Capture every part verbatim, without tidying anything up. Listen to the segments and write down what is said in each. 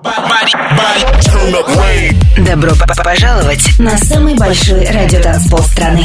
Добро пожаловать на самый большой радиотанцпол страны.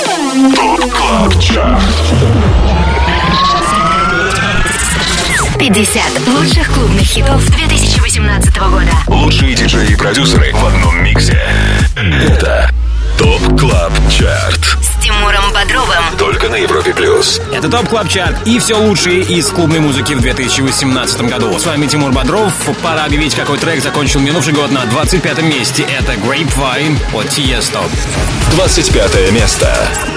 пятьдесят лучших клубных хитов две тысячи восемнадцатого года. Лучшие диджеи и продюсеры в одном миксе. Это ТОП Клаб Чарт с Тимуром Бодровым. Только на Европе Плюс. Это ТОП Клаб Чарт и все лучшее из клубной музыки в две тысячи восемнадцатом году. С вами Тимур Бодров. Пора объявить, какой трек закончил минувший год на двадцать пятом месте. Это Grapevine от Tiesto. двадцать пятое место.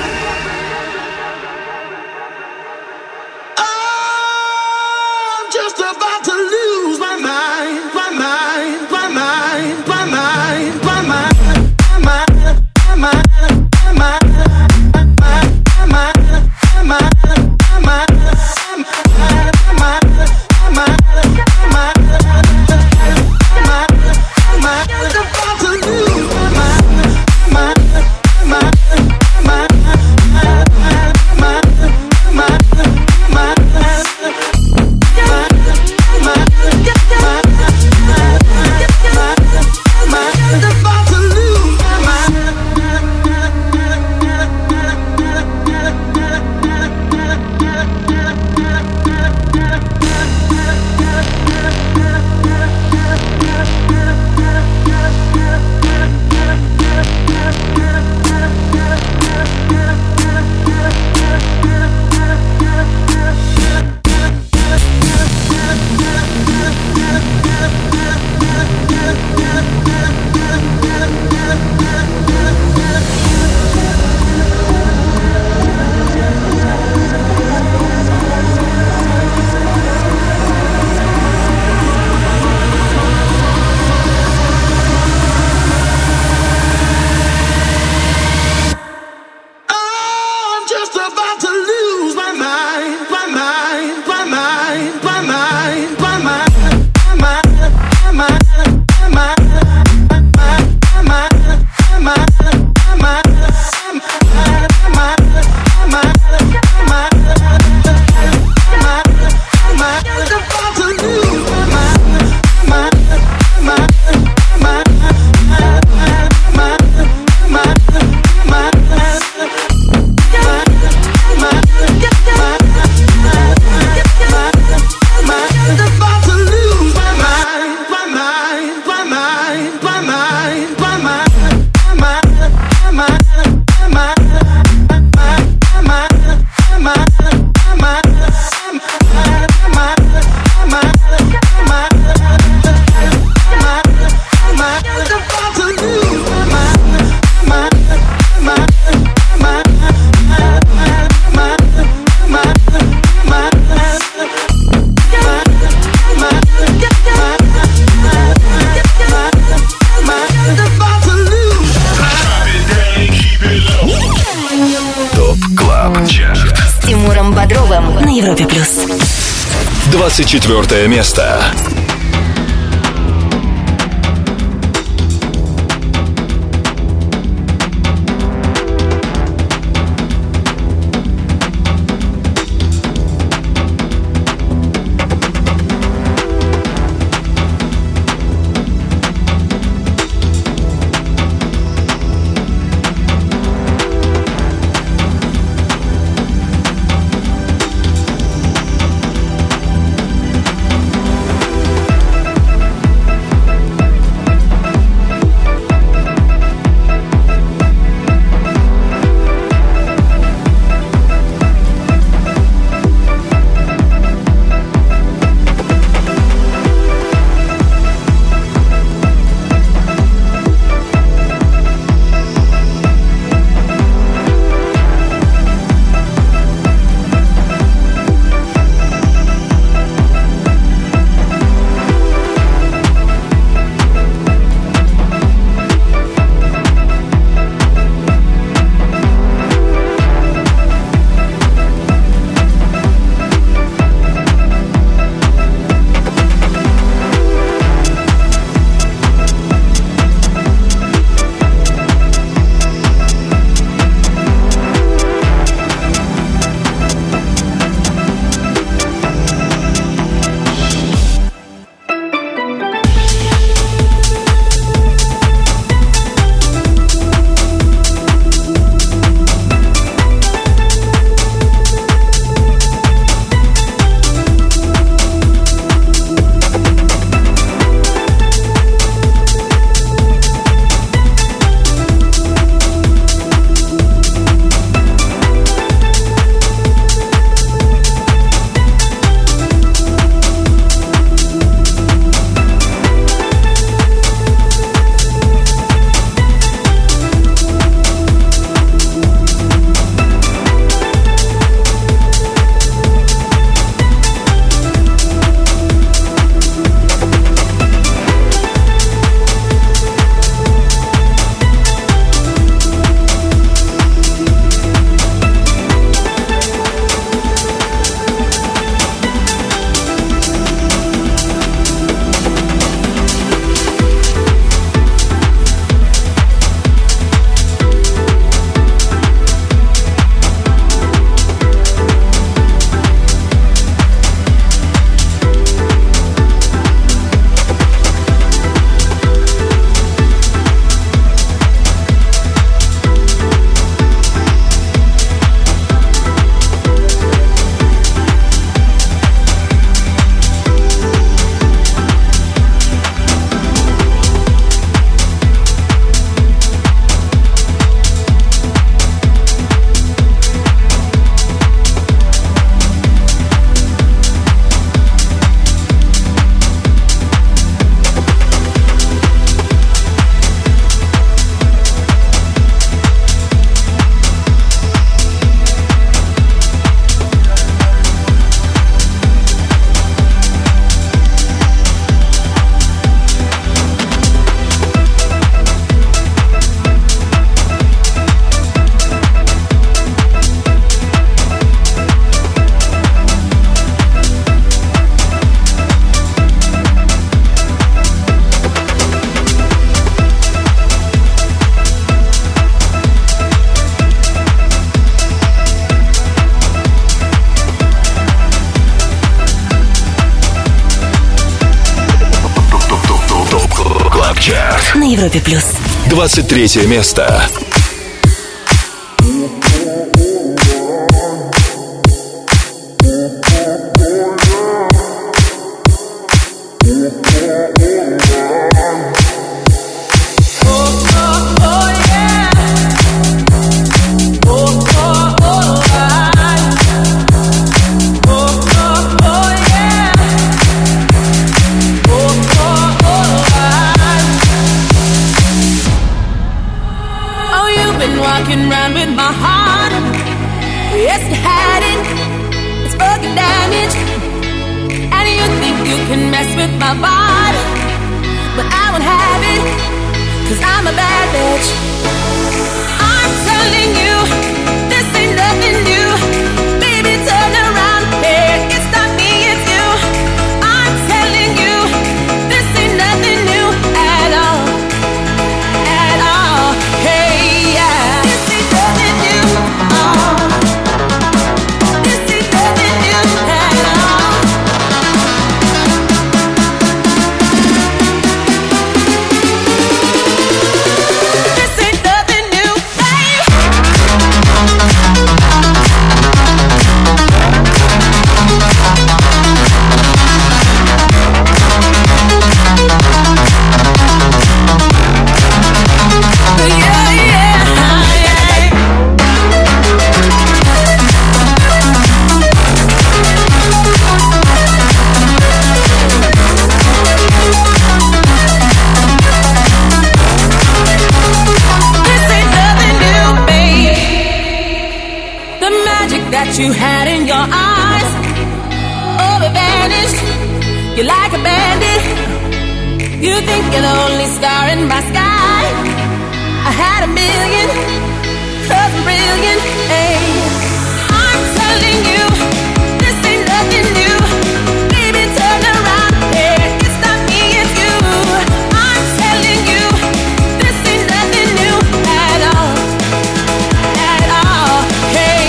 двадцать четвёртое место. на Европе плюс. двадцать третье место. Walking around with my heart. Yes, you had it. It's fucking damaged. And you think you can mess with my body, but I won't have it, cause I'm a bad bitch. I'm telling you, this ain't nothing new. Baby, turn around. Hey, it's not me, it's you. I'm telling you, this ain't nothing new at all. At all. Hey, yeah. You had in your eyes, oh, it vanished. You're like a bandit. You think you're the only star in my sky. I had a million, cause I'm brilliant. Hey, I'm telling you, this ain't nothing new. Baby, turn around. Hey, it's not me, it's you. I'm telling you, this ain't nothing new at all. At all. Hey.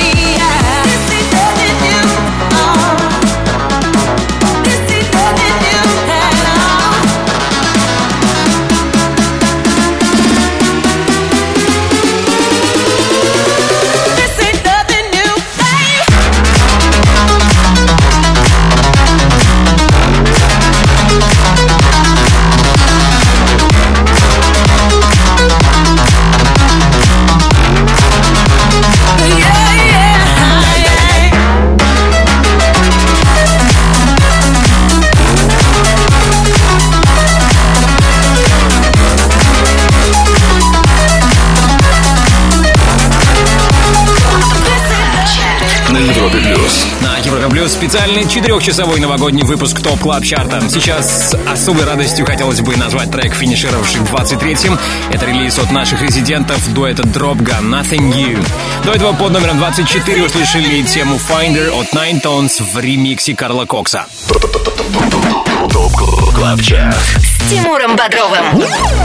На Европе Плюс специальный четырехчасовой новогодний выпуск ТОП Клаб Чарта. Сейчас с особой радостью хотелось бы назвать трек, финишировавший двадцать третьим. Это релиз от наших резидентов дуэта Dropgun Nothing New. До этого под номером двадцать четыре услышали тему Finder от Nine Tones в ремиксе Карла Кокса. ТОП Клаб Чарт с Тимуром Бодровым.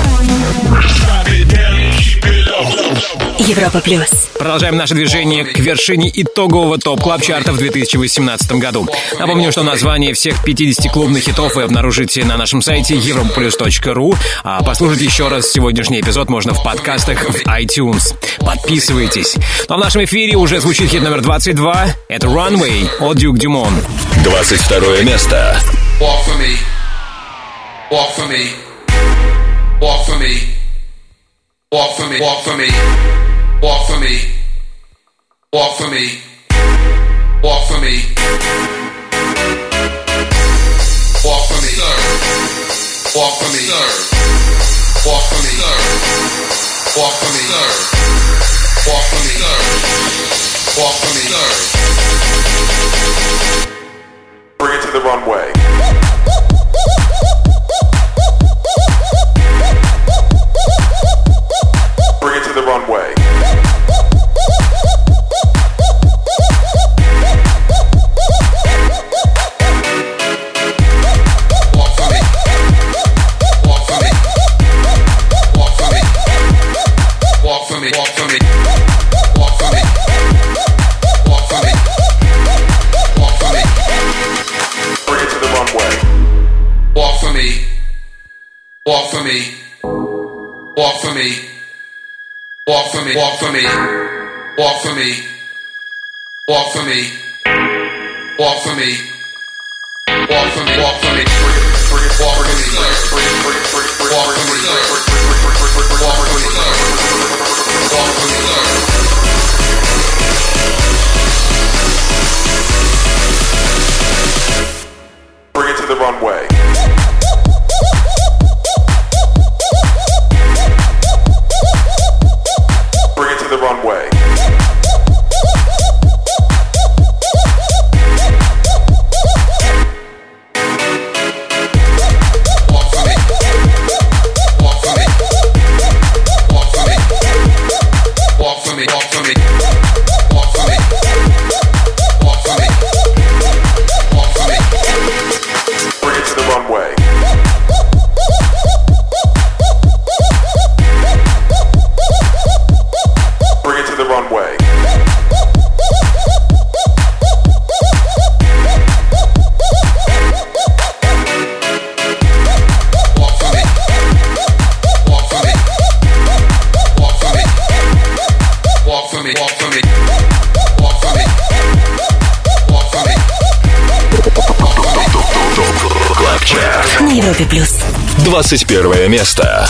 Европа Плюс. Продолжаем наше движение к вершине итогового топ-клаб-чарта в две тысячи восемнадцатом году. Напомню, что название всех пятидесяти клубных хитов вы обнаружите на нашем сайте европаплюс точка ру, а послушать еще раз сегодняшний эпизод можно в подкастах в iTunes. Подписывайтесь. Но в нашем эфире уже звучит хит номер двадцать два. Это Runway от Duke Dumont. двадцать второе место. Walk for me. Walk for me. Walk for me. Walk for me, walk for me, walk for me, walk for me, walk for me, walk for me, sir. Walk for me, sir. Walk for me, sir. Walk for me, sir. Walk for me, sir. Walk for me, sir. Bring it to the runway. Bring it to the runway. Walk for me. Walk for me. Walk for me. Walk for me. Walk for me. Walk for me. Walk for me. Walk for me. Bring it to the runway. Walk for me. Walk for me. walk for me, walk for me, walk for me, walk for me, walk for me, walk for me, walk for me, walk for me, walk for me, walk for me, walk for me, walk for me. Bring it to the runway. Bring it to the runway. Walk for me. Walk for me. Walk for me. Walk for me. Walk for me. Walk for me. Walk for me. Walk for me. Bring it to the runway. Bring it to the runway. Walk for me. Walk for me. Walk for me. Walk for me. Walk for me. Walk for me. Walk for me. Клаб Чарт. На Европе плюс. двадцать первое место.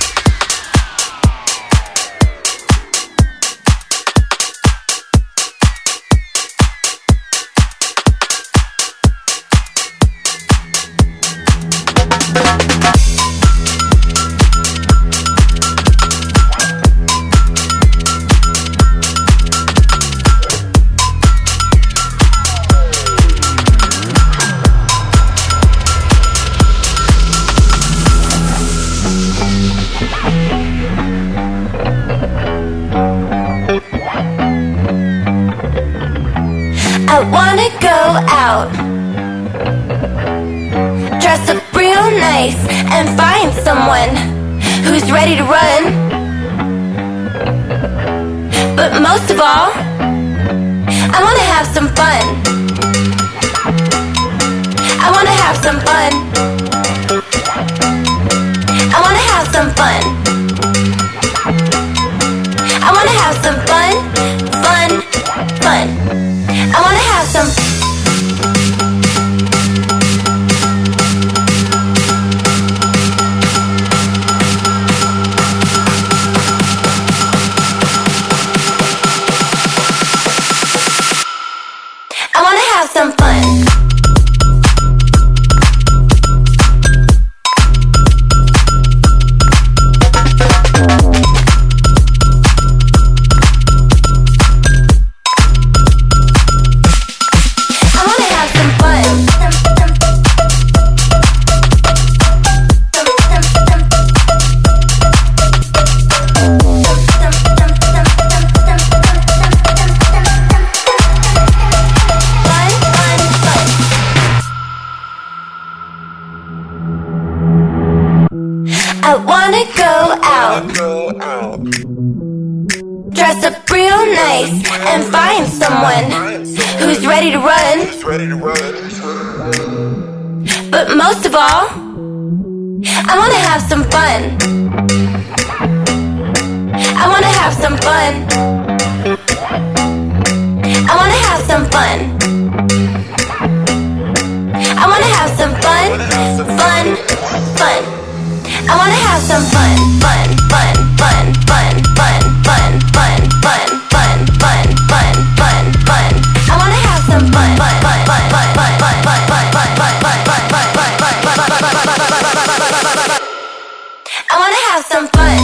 I wanna go out, dress up real nice and find someone who's ready to run. But most of all, I wanna have some fun. I wanna have some fun. I wanna have some fun. I wanna have some fun, fun, fun. I wanna have some. I wanna have some fun. I wanna go out, dress up real nice and find someone who's ready to run. But most of all, I wanna have some fun. I wanna have some fun. I wanna have some fun. I wanna have some fun, fun, fun. I wanna have some fun, fun, fun, fun, fun, fun, fun, fun, fun, fun, fun, fun, fun, fun. I wanna have some fun, fun, fun, fun, fun, fun, fun, fun, fun, fun, fun, fun, fun, fun, fun. I wanna have some fun.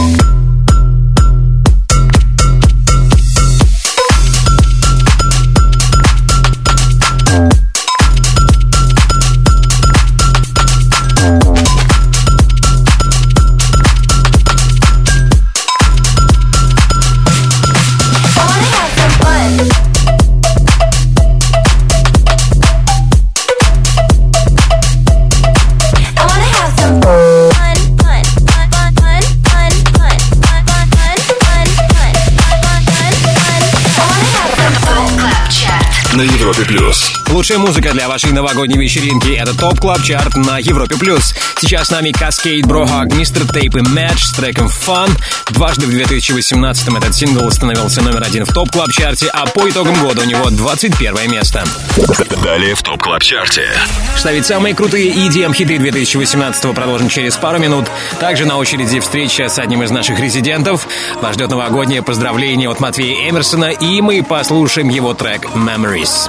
На Европе плюс. Лучшая музыка для вашей новогодней вечеринки — это ТОП Клаб Чарт на Европе+. Сейчас с нами Cascade, Brohug, мистер Tape и Match с треком Fun. Дважды в две тысячи восемнадцатом этот сингл становился номер один в ТОП Клаб Чарте, а по итогам года у него двадцать первое место. Далее в ТОП Клаб Чарте. Что ведь самые крутые и ди эм-хиты две тысячи восемнадцатого продолжим через пару минут. Также на очереди встреча с одним из наших резидентов. Вас ждет новогоднее поздравление от Матвея Эмерсона, и мы послушаем его трек «Memories».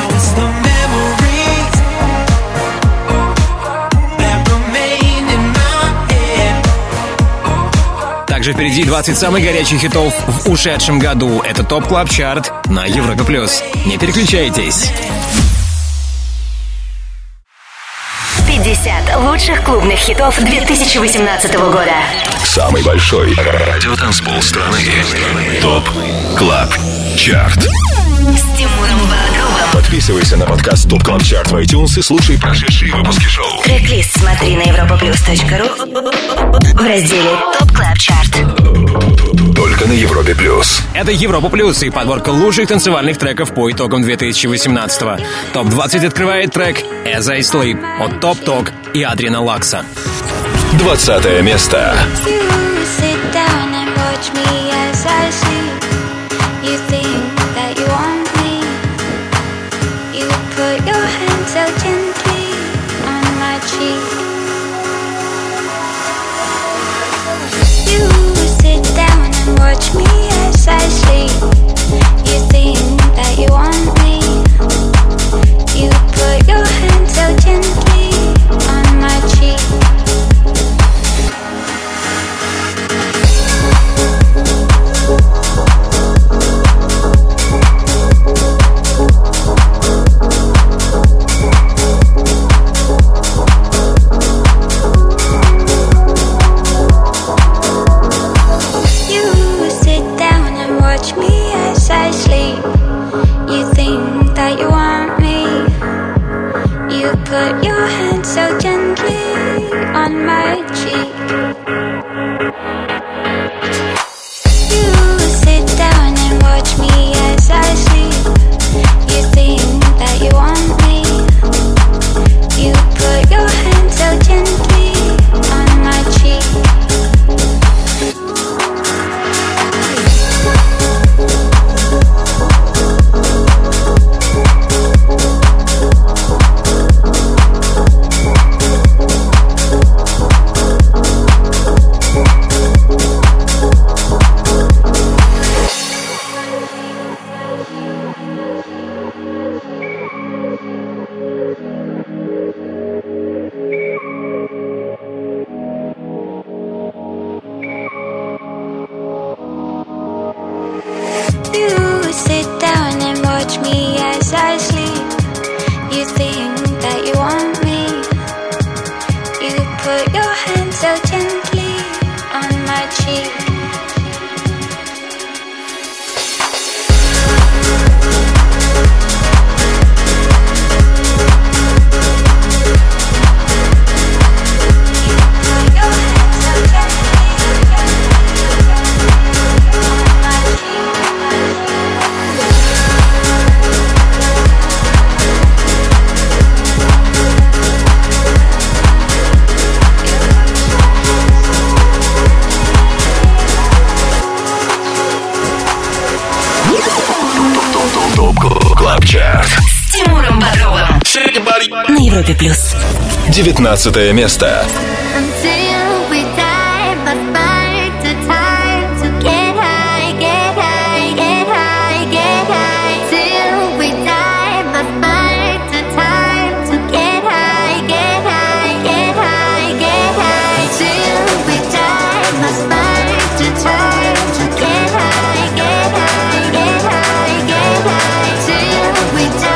Также впереди двадцать самых горячих хитов в ушедшем году. Это ТОП Клаб Чарт на Европе+. Не переключайтесь. пятьдесят лучших клубных хитов две тысячи восемнадцатого года. Самый большой радиотанцпол страны. ТОП Клаб Чарт. С Тимуром Бодровым. Подписывайся на подкаст ТОП Клаб Чарт в iTunes и слушай прошедшие выпуски шоу. Трек-лист смотри на европаплюс точка ру в разделе ТОП Клаб Чарт. Только на Европе Плюс. Это Европа Плюс и подборка лучших танцевальных треков по итогам две тысячи восемнадцатого. топ двадцать открывает трек «As I Sleep» от Топ Ток и Адриана Лакса. Двадцатое место. Watch me as I sleep. You think that you want me. You put your hand so gently on my cheek. Put your hand so gently on my cheek. You sit down and watch me as I sleep. You think that you want me. You put your hand so gently on my cheek. На Европе Плюс. Девятнадцатое место.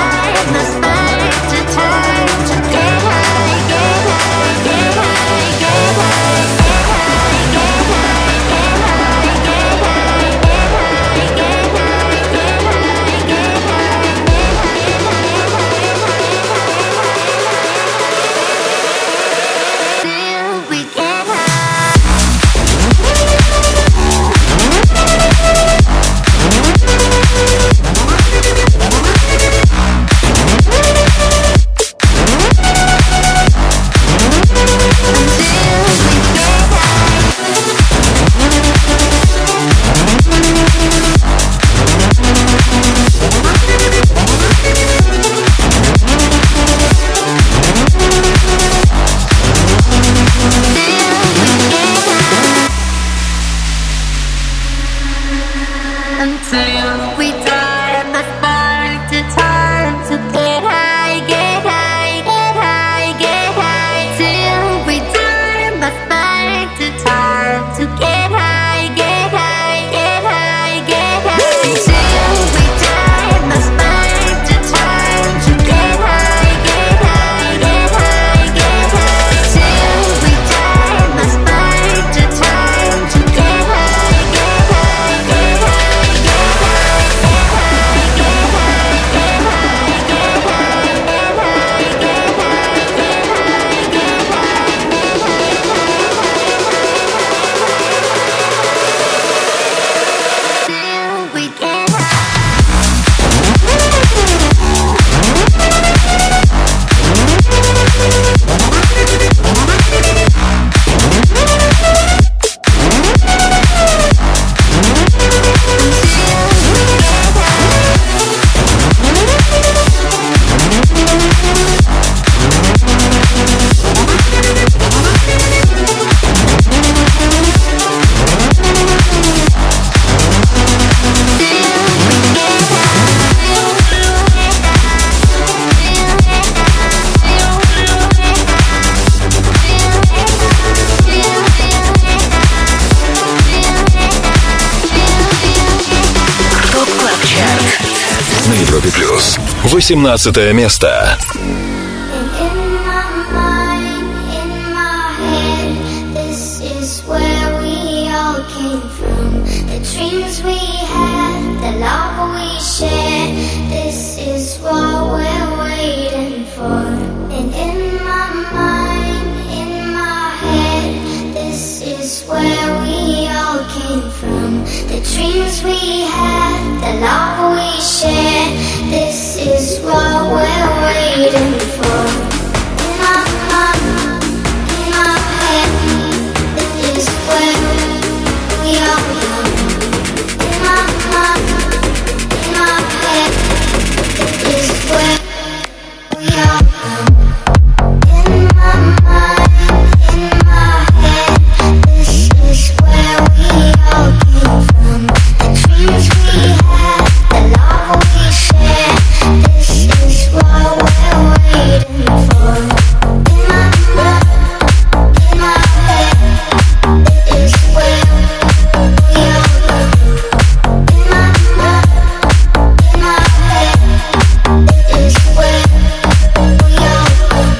Get high, get high, get high. плюс. восемнадцатое место. The dreams we had, the love we shared, this is what we're waiting for. In my mind, in my head, this is where we are young. In my mind, in my head, this is where we are young. In my mind, in my head, this is where we all came from. The dreams we had, the love we shared, this is what we're waiting for. In my mind, in my head, this is where we all came. In my mind, in my head, this is where we all came.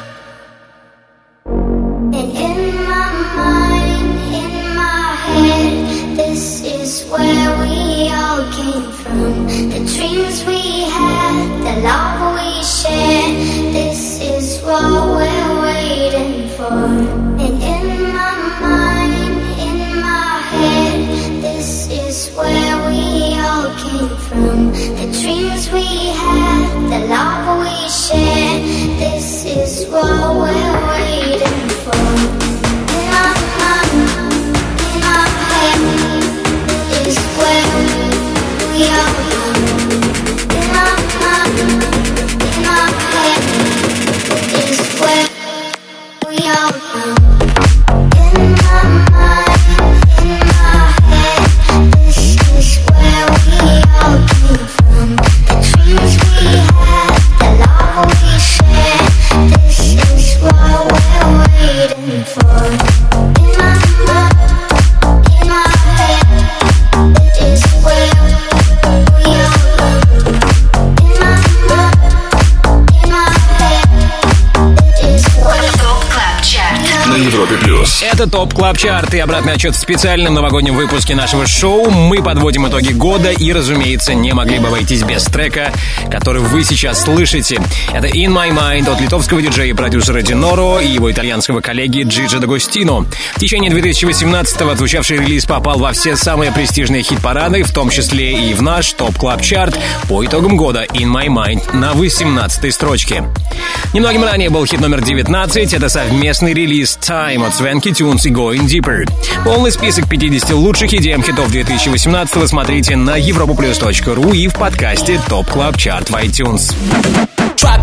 And in my mind, in my head, this is where we all came from. The dreams we had, the love we shared, this is what we're waiting for. And in my mind, in my head, this is where we all came from. The dreams we had, the love we shared, this is what we're waiting for. In my mind, in my head, this is where we are young. In my mind, in my head, this is where we are young. In my mind, in my head, this is where we all came from. The dreams we had, the love we shared, this is what we're waiting for. In my mind, in my head, this is where we are young. In my mind, in my head, this is where ТОП Клаб Чарт. На Европе плюс. Это ТОП Клаб Чарт и обратный отчет в специальном новогоднем выпуске нашего шоу. Мы подводим итоги года и, разумеется, не могли бы обойтись без трека, который вы сейчас слышите. Это In My Mind от литовского диджея и продюсера Диноро и его итальянского коллеги Джиджи Д'Агостино. В течение две тысячи восемнадцатого отзвучавший релиз попал во все самые престижные хит-парады, в том числе и в наш ТОП Клаб Чарт. По итогам года In My Mind на восемнадцатой строчке. Немногим ранее был хит номер девятнадцать. Это совместный релиз Time от Swanky Tunes и Going Deeper. Полный список пятидесяти лучших и ди эм-хитов две тысячи восемнадцатого смотрите на европоплюс точка ру и в подкасте ТОП Клаб Чарт в iTunes. ТОП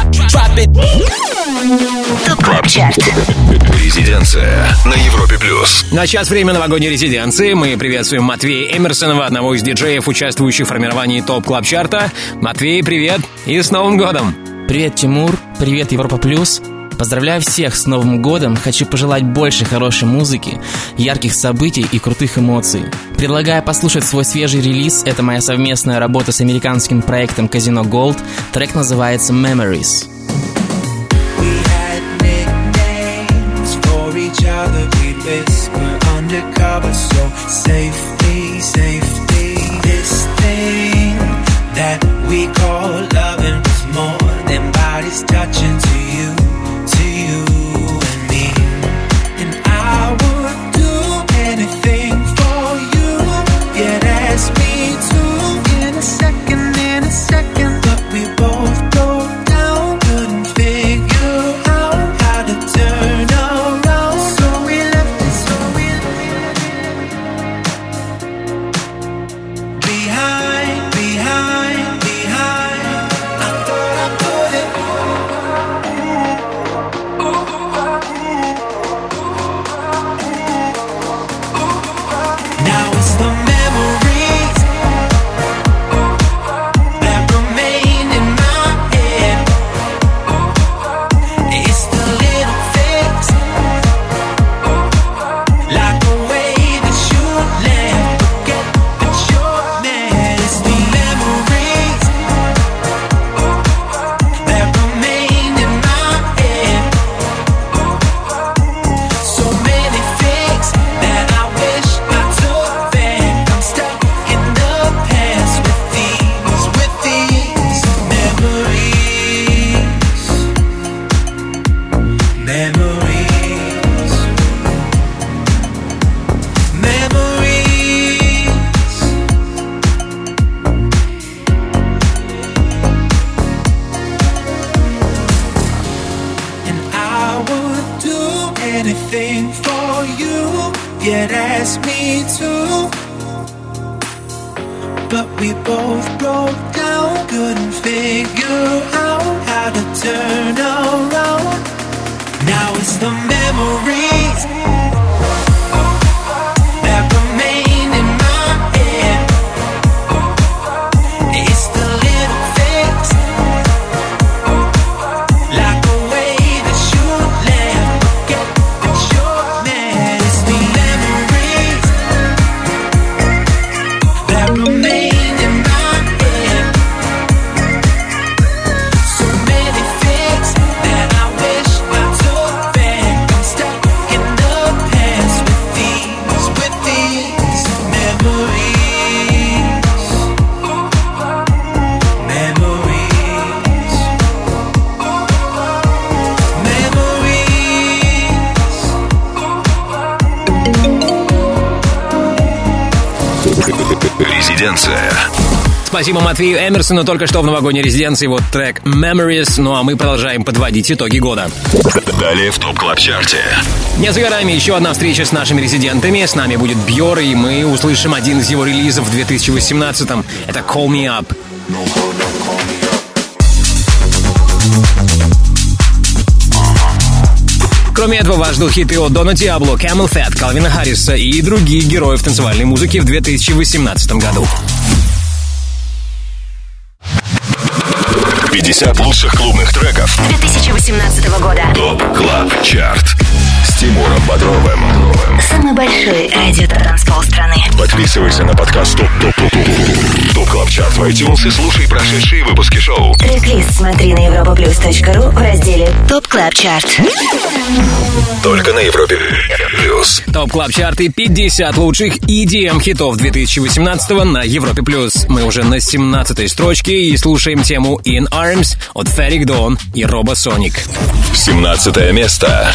Клаб Чарт. Резиденция на Европе плюс. На час время новогодней резиденции мы приветствуем Матвея Эмерсонова, одного из диджеев, участвующих в формировании ТОП Клаб Чарта. Матвей, привет и с Новым годом! Привет, Тимур, привет, Европа Плюс. Поздравляю всех с Новым годом. Хочу пожелать больше хорошей музыки, ярких событий и крутых эмоций. Предлагаю послушать свой свежий релиз. Это моя совместная работа с американским проектом Casino Gold. Трек называется Memories. Touching to you, to you and me. And I would do anything for you. You'd ask me to in a second, in a second. But we both go down, couldn't figure out how to turn around. So we left it, so we left it behind, behind, behind. yeah, that's me too. But we both broke down, couldn't figure out how to turn around. Now it's the memories that remain in my head. It's the little things, like a way that you left, forget that you're mad. It's the memories that remain in my head. So many things that I wish I took back. I'm stuck in the past with these, with these memories. Memories. Резиденция. Спасибо Матвею Эмерсону, только что в новогодней резиденции вот трек Memories, ну а мы продолжаем подводить итоги года. Далее в ТОП Клаб Чарте. Не за горами еще одна встреча с нашими резидентами. С нами будет Бьор, и мы услышим один из его релизов в две тысячи восемнадцатом. Это Call Me Up. Кроме этого, вас ждут хиты от Дона Диабло, Camel Fat, Калвина Харриса и других героев танцевальной музыки в две тысячи восемнадцатом году. пятьдесят лучших клубных треков две тысячи восемнадцатого года. ТОП Клаб Чарт с Тимуром Бодровым. Самый большой радио-транспол страны. Подписывайся на подкаст ТОП ТОП ТОП ТОП ТОП Клаб Чарт в iTunes и слушай прошедшие выпуски шоу. Трек-лист смотри на европа плюс точка ру в разделе ТОП Клаб Чарт. Только на Европе Плюс. ТОП Клаб Чарты, пятьдесят лучших и ди эм хитов две тысячи восемнадцатого на Европе Плюс. Мы уже на семнадцатой строчке и слушаем тему In Arms от Ferric Dawn и Робо Соник. семнадцатое место.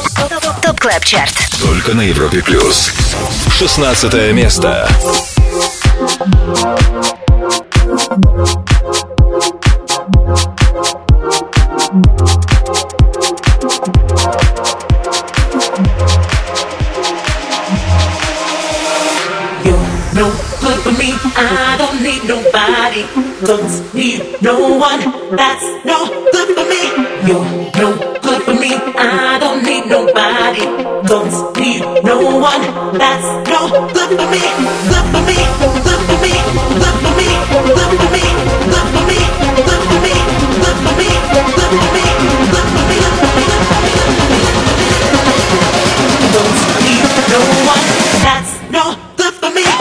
Клаб Чарт. Только на Европе Плюс. шестнадцатое место. Don't need no one, that's no good for me. You're no good for me, I don't need nobody. Don't need no one, that's no good for me. Good for me, good for me, good for me, good for me, good for me, good for me, good for me, good for me, good for me, don't need no one, that's no good for me.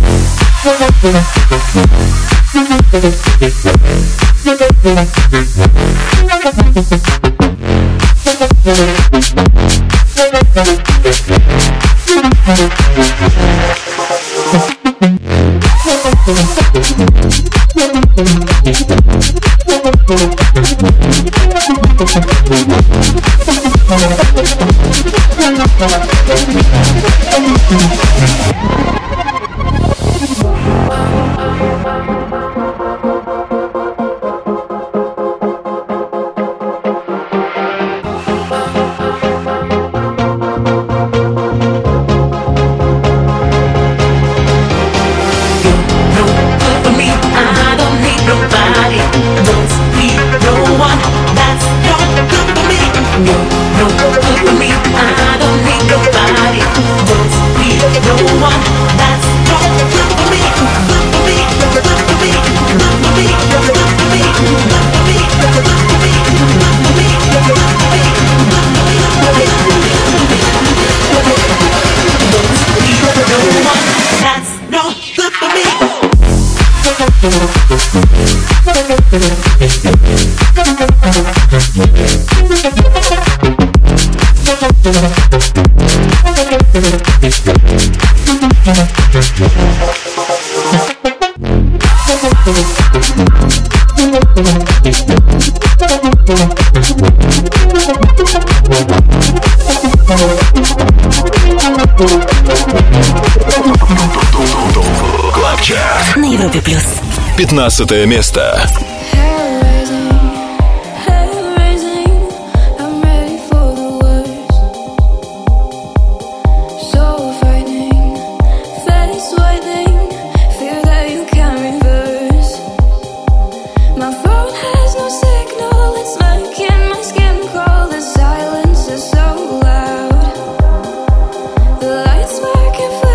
Клабчарт на Европе плюс. пятнадцатое место.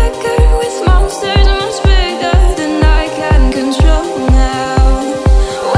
Monsters much bigger than I can control now.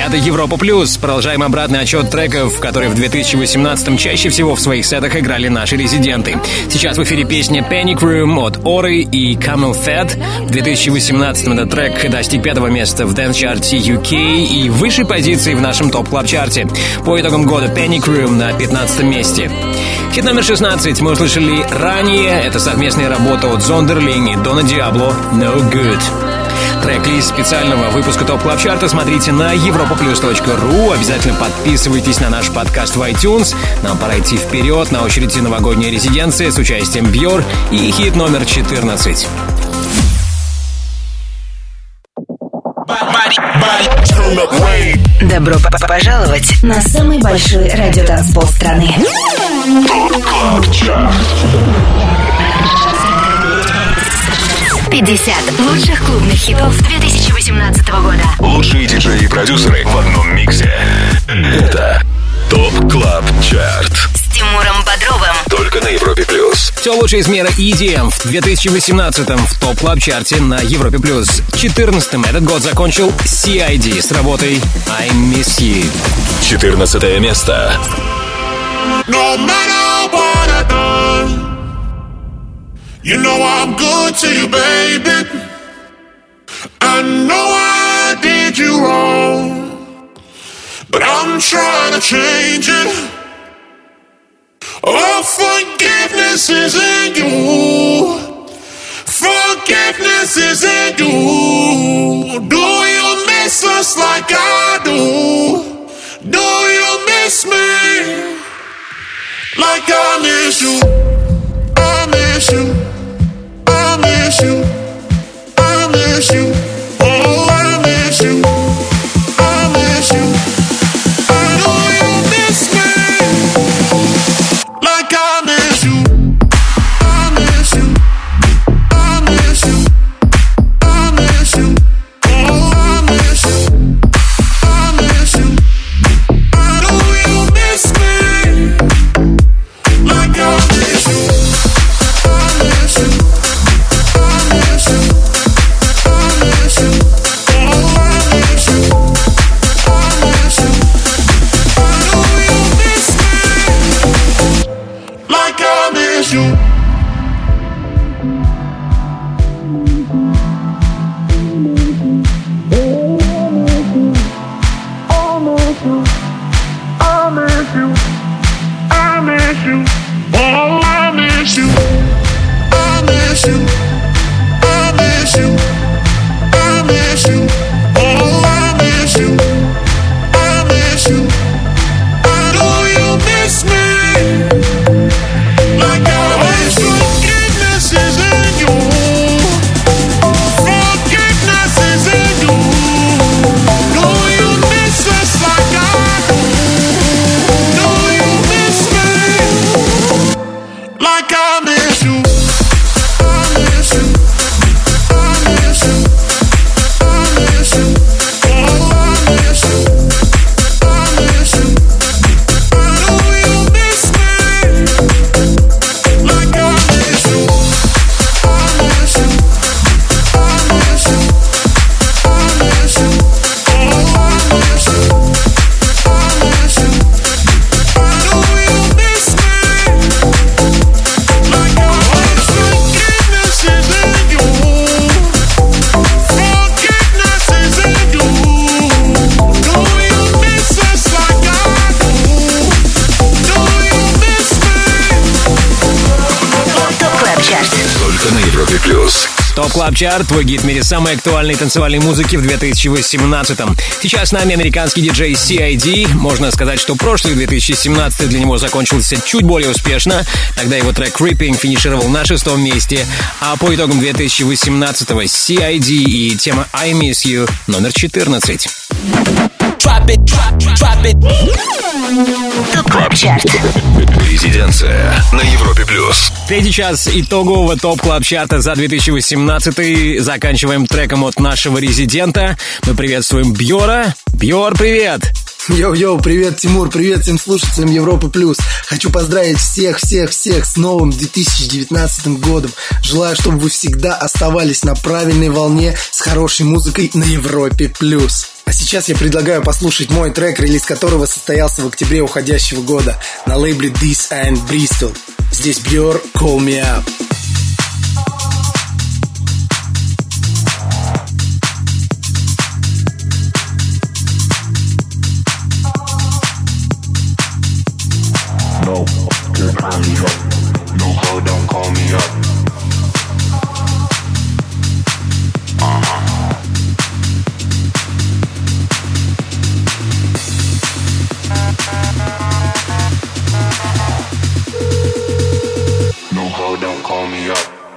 Это Европа Плюс. Продолжаем обратный отчет треков, которые в две тысячи восемнадцатом чаще всего в своих сетах играли наши резиденты. Сейчас в эфире песня Panic Room от Ori и Camel Fat. В две тысячи восемнадцатом этот трек достиг пятого места в дэнс-чарте ю кей и высшей позиции в нашем топ-клаб-чарте. По итогам года Panic Room на пятнадцатом месте. Хит номер шестнадцать мы услышали ранее. Это совместная работа от Зондерлинг и Дона Диабло «No Good». Трек-лист специального выпуска ТОП Клаб Чарта смотрите на европа плюс точка ру. Обязательно подписывайтесь на наш подкаст в iTunes. Нам пора идти вперед. На очереди новогодняя резиденция с участием Бьор и хит номер четырнадцать. Добро пожаловать на самый большой радиотанцпол страны. ТОП Клаб Чарт. пятьдесят лучших клубных хитов две тысячи восемнадцатого года. Лучшие диджеи и продюсеры в одном миксе. Это ТОП Клаб Чарт. С Тимуром Бодровым. Только на Европе Плюс. Все лучшее из мира и ди эм в две тысячи восемнадцатом в ТОП Клаб Чарте на Европе Плюс. четырнадцатым этот год закончил си ай ди с работой I Miss You. четырнадцатое место. No matter what I've done, you know I'm good to you, baby. I know I did you wrong, but I'm trying to change it. Oh, forgiveness is in you. Forgiveness is in you. Do you miss us like I do? Do you miss me like I miss you? I miss you. I miss you. I miss you. Oh, I miss you. I miss you. I know you miss me like I miss you. I miss you. I miss you. I miss you. Oh, I miss you. I miss you. I know you miss me like I miss you. I miss you. I miss you. I miss you. Oh, I miss you. I miss you. I know you miss me like I miss you. I miss you. I miss you. I miss you. Oh, I miss you. I miss you. I miss you. I miss you. Oh, I miss you. I miss you. I know you miss me like I miss you. Forgiveness is in you. Forgiveness is in you. Do you miss us like I do? Do you miss me like I miss you? I miss you. I miss you. I miss you. Oh, I miss you. I miss you. I know you miss me like I miss you. I miss you. I miss you. I miss you. Oh, I miss you. I miss you. I know you miss me like I miss you. Forgiveness is in you. Forgiveness is in you. Do you miss us like I do? Do you miss me? ТОП Клаб Чарт. Только на Европе Плюс. ТОП Клаб Чарт, твой гид в мире самой актуальной танцевальной музыки в две тысячи восемнадцатом. Сейчас с нами американский диджей си ай ди. Можно сказать, что прошлый две тысячи семнадцатый для него закончился чуть более успешно. Тогда его трек Creeping финишировал на шестом месте. А по итогам две тысячи восемнадцатого си ай ди и тема I Miss You номер четырнадцать. ТОП Клаб Чарт. Резиденция на Европе Плюс. Третий час итогового ТОП Клаб Чарта за две тысячи восемнадцатый. Заканчиваем треком от нашего резидента. Мы приветствуем Бьора. Бьор, привет! Йоу-йоу, привет, Тимур, привет всем слушателям Европы Плюс. Хочу поздравить всех-всех-всех с новым две тысячи девятнадцатым годом. Желаю, чтобы вы всегда оставались на правильной волне с хорошей музыкой на Европе Плюс. А сейчас я предлагаю послушать мой трек, релиз которого состоялся в октябре уходящего года на лейбле This and Bristol. Здесь Björk, Call Me Up. No, can't call me up. No, ho, don't call me up. Uh-huh. No, ho, don't call me up.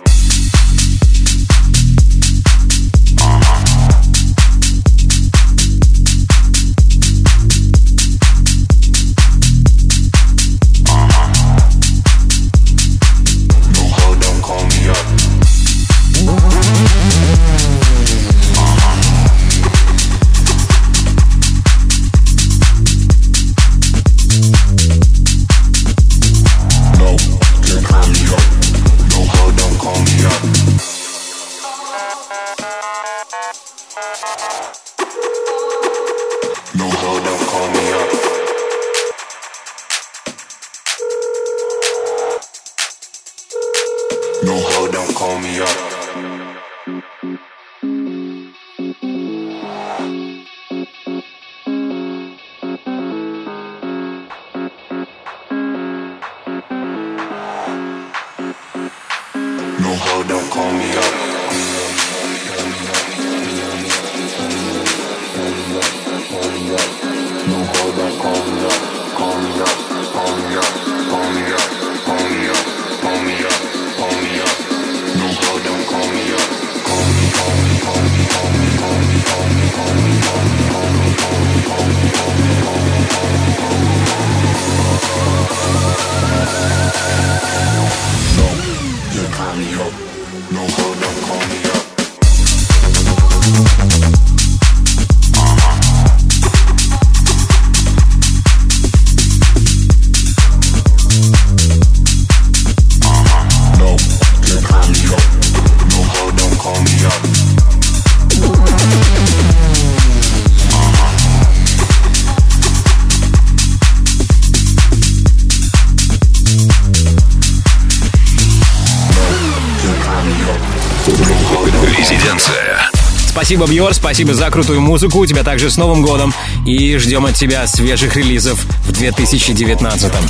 Спасибо, Бьор, спасибо за крутую музыку. Тебя также с Новым годом. И ждем от тебя свежих релизов в две тысячи девятнадцатом.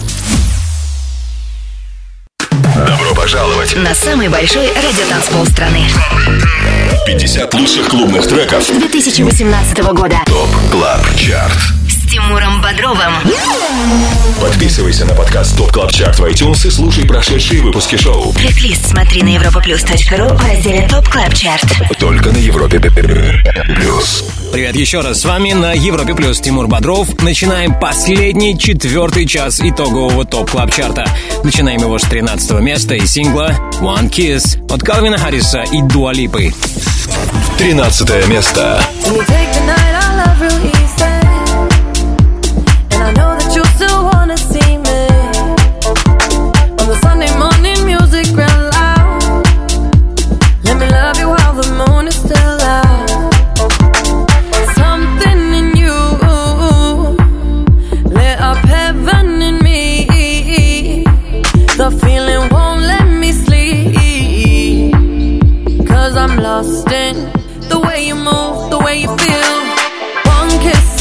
Добро пожаловать на самый большой радиотанцпол страны. пятьдесят лучших клубных треков две тысячи восемнадцатого года. ТОП Клаб Чарт. С Тимуром Бодровым. Подписывайся на подкаст ТОП Клаб Чарт в iTunes и слушай прошедшие выпуски шоу. Трек-лист смотри на европаплюс точка ру в разделе ТОП Клаб Чарт. Только на Европе Плюс. Привет еще раз, с вами на Европе Плюс Тимур Бодров. Начинаем последний, четвертый час итогового ТОП Клаб Чарта. Начинаем его с тринадцатого места и сингла One Kiss от Калвина Харриса и Дуа Липы. тринадцатое место. Lost in the way you move, the way you feel. One kiss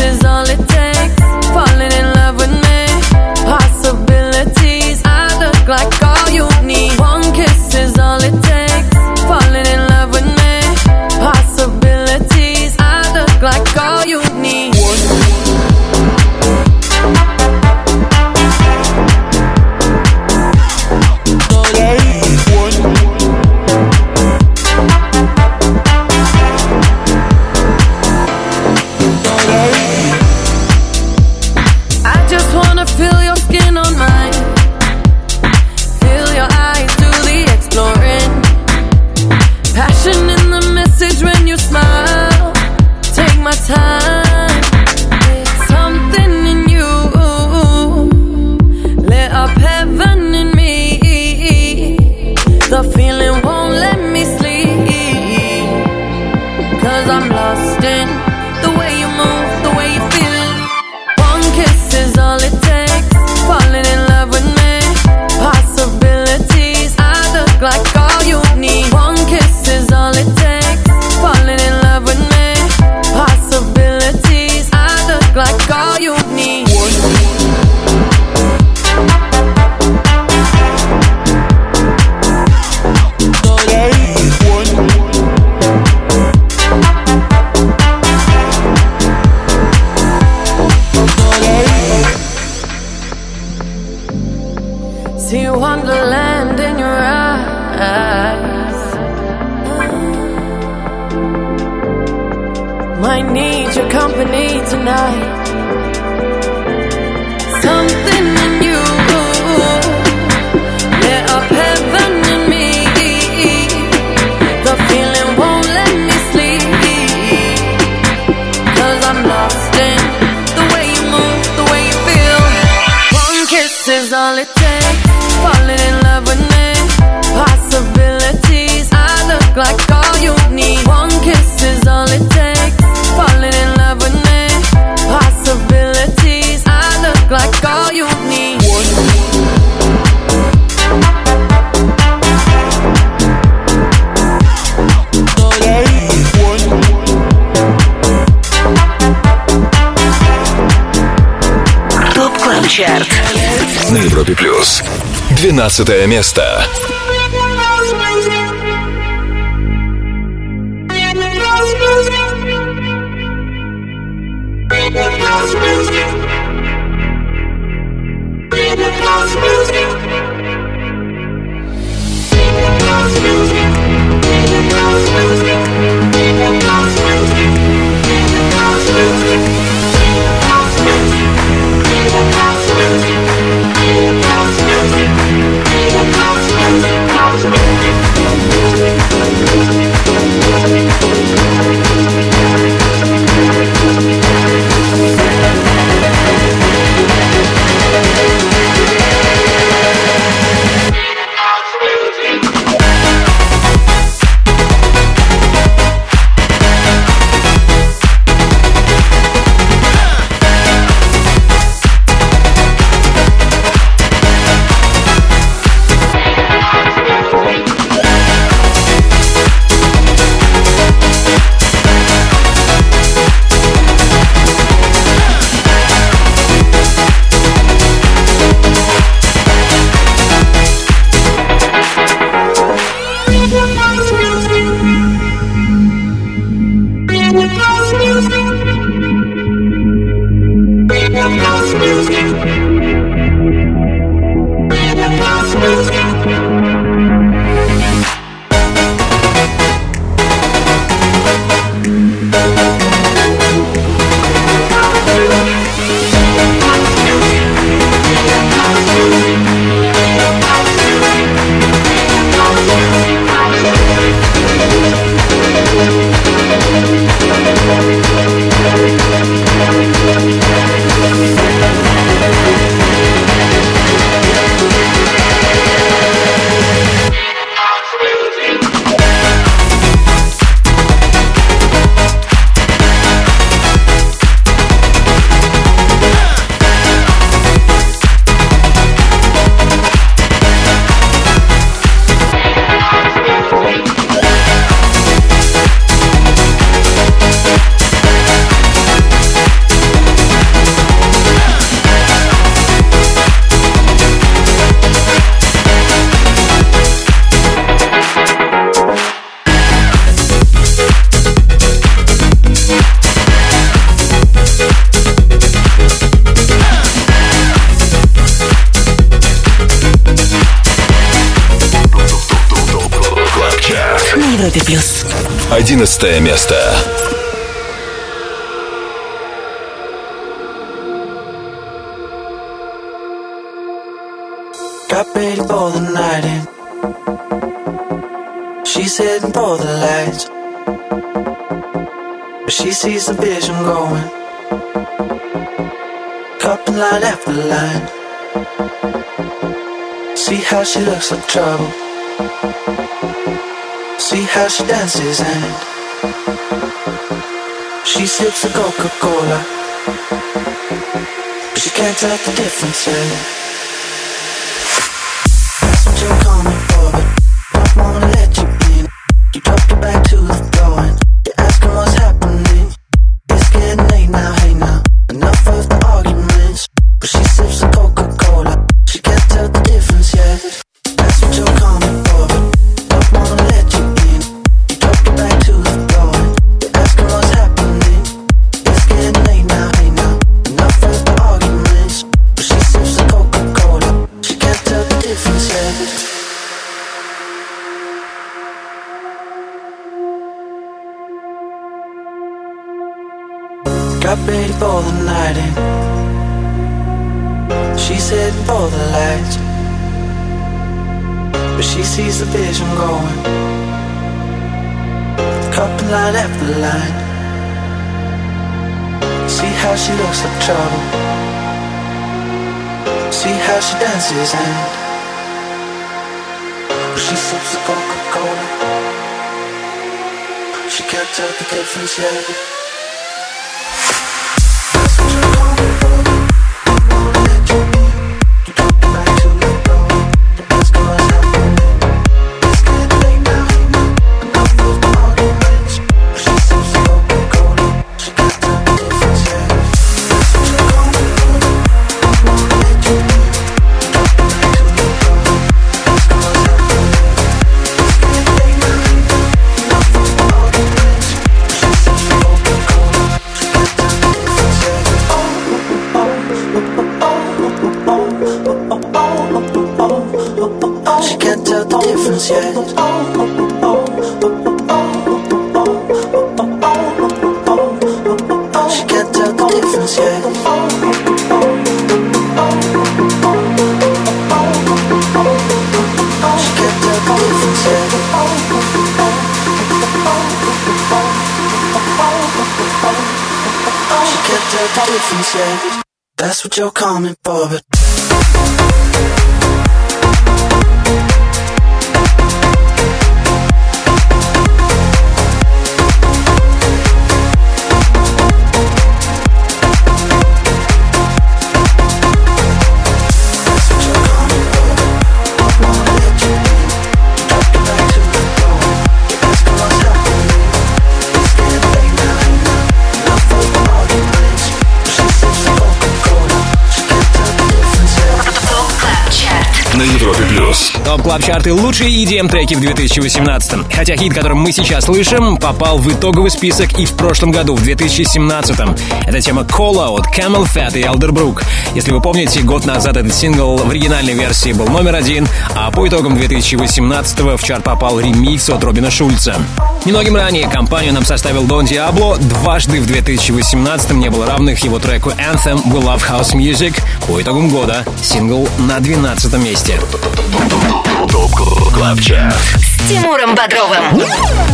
See wonderland in your eyes. Might need your company tonight. Something in you lit up heaven in me. The feeling won't let me sleep, 'cause I'm lost in the way you move, the way you feel. One kiss is all it takes. Falling in love with me. Possibilities, I look like all you need. One kiss is all it takes. Falling in love with me. Possibilities, I look like all you need. Топ Клаб Чарт на Европе Плюс. Двенадцатое место. Одиннадцатое место. Got ready for the night in. She's heading for the lights, but she sees the vision going. Couple line after line. See how she looks like trouble. See how she dances and she sips a Coca-Cola, but she can't tell the difference yet. That's what you're coming for, but don't wanna let you in. You drop your back to the floor and you're asking what's happening. It's getting late now, hey now. Enough of the arguments, but she sips a Coca-Cola. She can't tell the difference yet. That's what you're coming for, but don't wanna let you in. You drop your back to the floor and you're asking what's happening. It's getting late now, hey now. Enough of the arguments, but she sips a Coca-Cola. She can't tell the difference. ready for the night in. She's heading for the lights, but she sees the vision going, cup and line after line. See how she looks like trouble, see how she dances and she sips the Coca-Cola. She can't tell the difference yet. That's what you're coming for, but на Европе плюс. Топ Клаб Чарты — лучшие и ди эм-треки в две тысячи восемнадцатом. Хотя хит, который мы сейчас слышим, попал в итоговый список и в прошлом году, в две тысячи семнадцатом. Это тема Cola от Camel Fat и Elderbrook. Если вы помните, год назад этот сингл в оригинальной версии был номер один, а по итогам две тысячи восемнадцатого в чарт попал ремикс от Робина Шульца. Немногим ранее компанию нам составил Дон Диабло. Дважды в две тысячи восемнадцатом не было равных его треку Anthem We Love House Music. По итогам года сингл на двенадцатом месте. Топ Клаб Чарт с Тимуром Бодровым.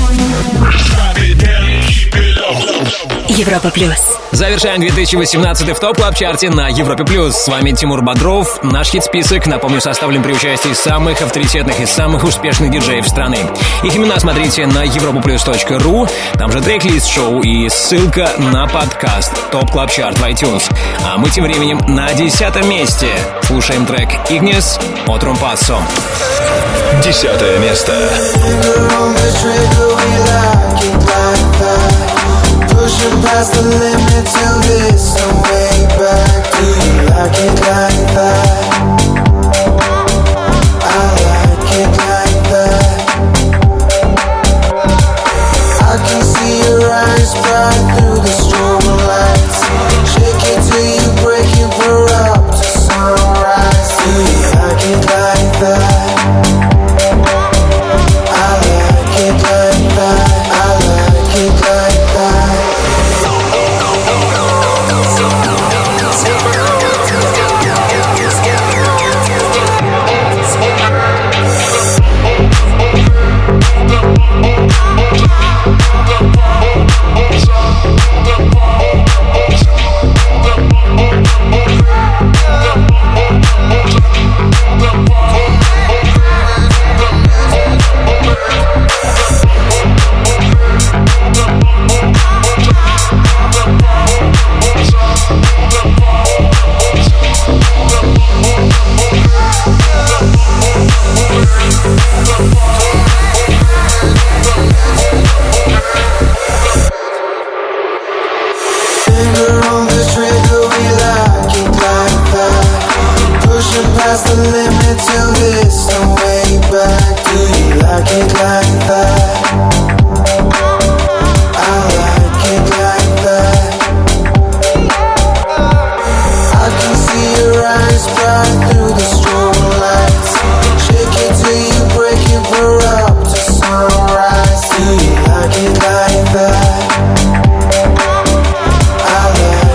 Европа плюс. Завершаем две тысячи восемнадцатый в топ клаб чарте на Европе плюс. С вами Тимур Бодров. Наш хит-список, напомню, составлен при участии самых авторитетных и самых успешных диджеев страны. Их имена смотрите на европа плюс точка ру. Там же трек-лист шоу и ссылка на подкаст Топ Клаб Чарт в iTunes. А мы тем временем на десятом месте слушаем трек Ignis от Румпассо. Десятое место. Pushing past the limit till this no way back. Do you like it like that? I like it like that. I can see your eyes bright through the strobe lights. Shake it till you break it, we're up to sunrise. Do you like it like that? I like it like that. I like it like that. Past the limit till there's no way back. Do you like it like that? I like it like that. I can see your eyes bright through the strobe lights. Shake it till you break it, we're up to sunrise. Do you like it like that? I like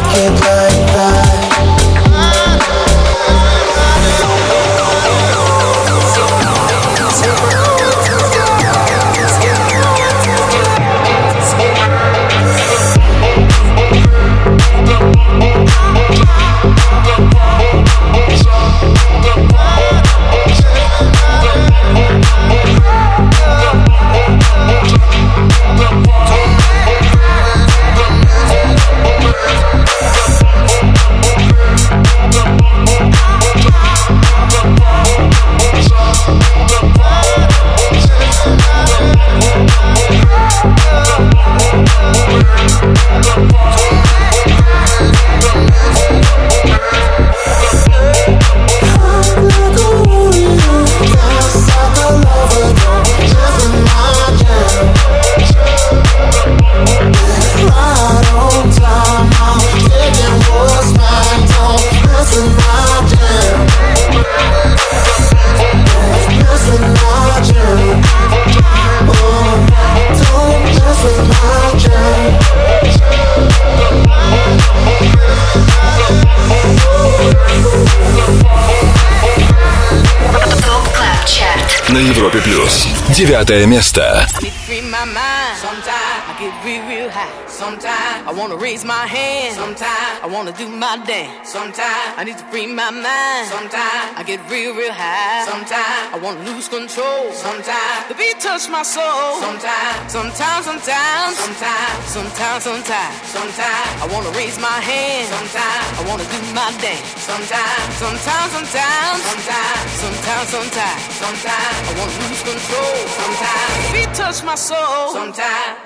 на Европе плюс. Девятое место. Sometimes I get real, real high. Sometimes I wanna raise my hand. Sometimes I wanna do my dance. Sometimes I need to free my mind. Sometimes I get real, real high. Sometimes I wanna lose control. Sometimes the beat touch my soul. Sometimes, sometimes, sometimes, sometimes, sometimes, sometimes, sometimes I wanna raise my hand. Sometimes I wanna do my dance. Sometimes, sometimes, sometimes, sometimes, sometimes, sometimes, sometimes I wanna lose control. Sometimes the beat touch my soul. Sometimes.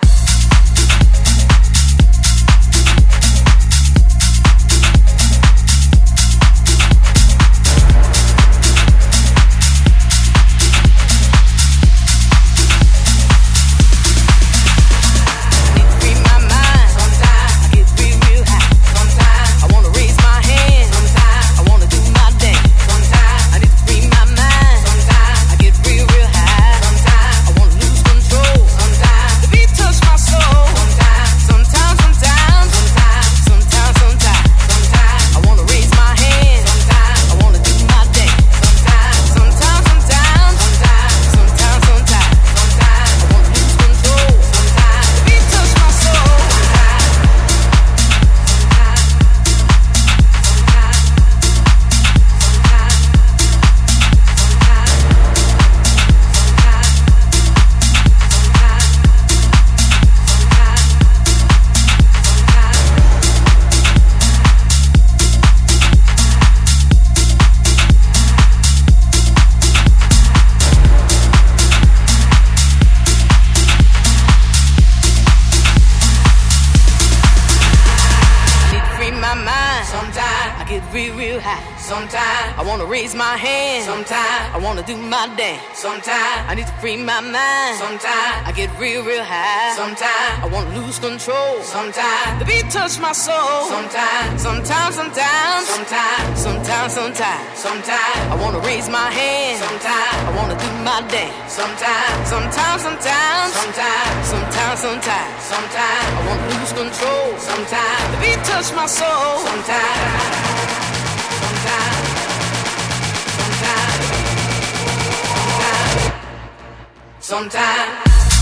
Sometimes I need to free my mind. Sometimes I get real, real high. Sometimes I wanna lose control. Sometimes the beat touch my soul. Sometimes, sometimes, sometimes, sometimes, sometimes, sometimes, sometimes I wanna raise my hand. Sometimes I wanna do my dance. Sometimes, sometimes, sometimes, sometimes, sometimes, sometimes, sometimes I wanna lose control. Sometimes the beat touch my soul. Sometimes, sometimes, sometimes. Sometimes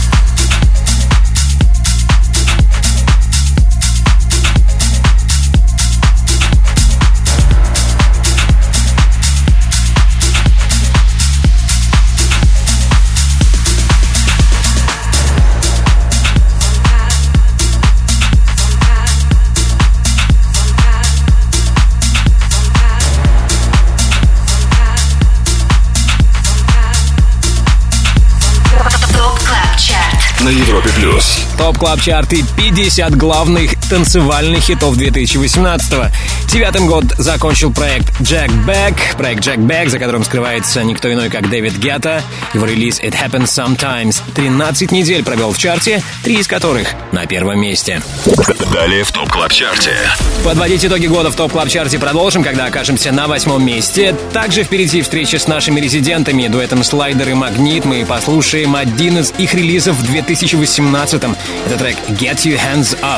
на Европе плюс. Топ Клаб Чарты, пятьдесят главных танцевальных хитов две тысячи восемнадцатого. Девятым год закончил проект Jack Beck. Проект Jack Beck, за которым скрывается никто иной, как Дэвид Гетта. Его релиз It Happens Sometimes тринадцать недель провел в чарте, три из которых на первом месте. Далее в Топ Клаб Чарте. Подводить итоги года в Топ Клаб Чарте продолжим, когда окажемся на восьмом месте. Также впереди встреча с нашими резидентами, дуэтом Слайдер и Магнит. Мы послушаем один из их релизов в две тысячи восемнадцатом. Это трек Get Your Hands Up.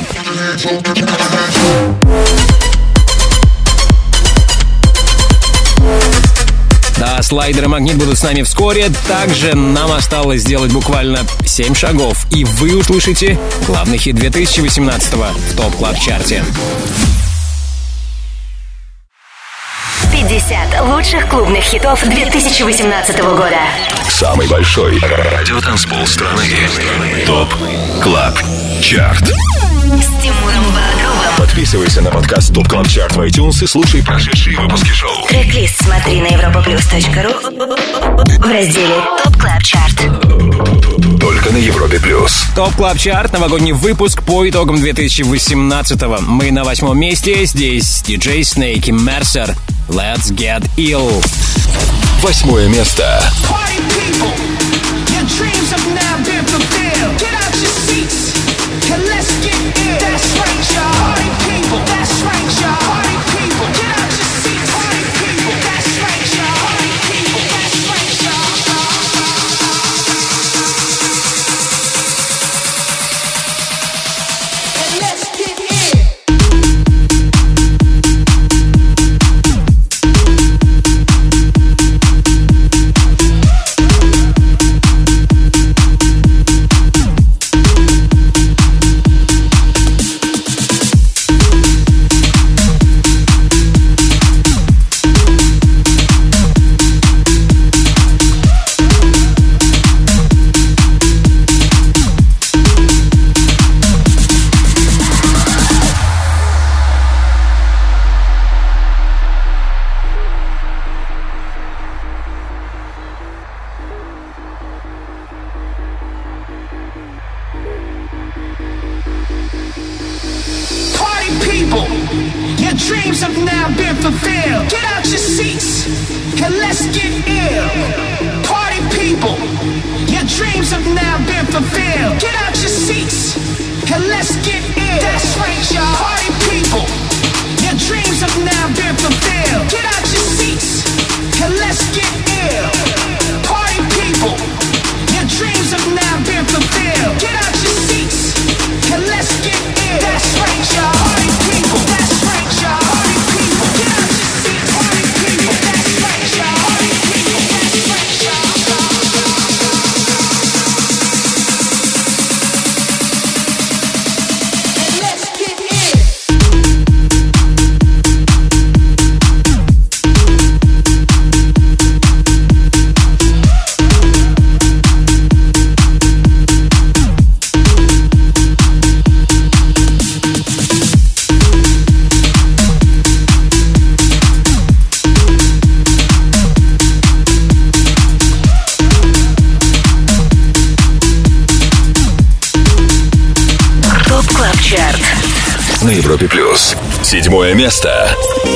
Да, Слайдер и Магнит будут с нами вскоре. Также нам осталось сделать буквально семь шагов, и вы услышите главный хит две тысячи восемнадцатого в Топ Клаб Чарте. пятьдесят лучших клубных хитов две тысячи восемнадцатого года. Самый большой радиотанцпол страны. Топ Клаб Чарт. С Тимуром Бодровым. Подписывайся на подкаст Топ Клаб Чарт в iTunes и слушай прошедшие выпуски шоу. Трек-лист смотри на европаплюс точка ру в разделе Топ Клаб Чарт. Только на Европе плюс. Топ Клаб Чарт, новогодний выпуск по итогам две тысячи восемнадцатого. Мы на восьмом месте. Здесь диджей Snake и Mercer. Let's Get Ill. Восьмое место. let's get ill. Party people, your dreams have now been fulfilled. Get out your seats and let's get ill. That's right, y'all. Party people, your dreams have now been fulfilled. Get out your seats and let's get ill. Party people, your dreams have now been fulfilled. Get out your seats and let's get ill. That's right, y'all. Party people, that's right, y'all. Party people, get out your seats. Party people, that's right, y'all. Party people, that's right, y'all. And let's get ill. ТОП Клаб Чарт На Европе Плюс. Седьмое место.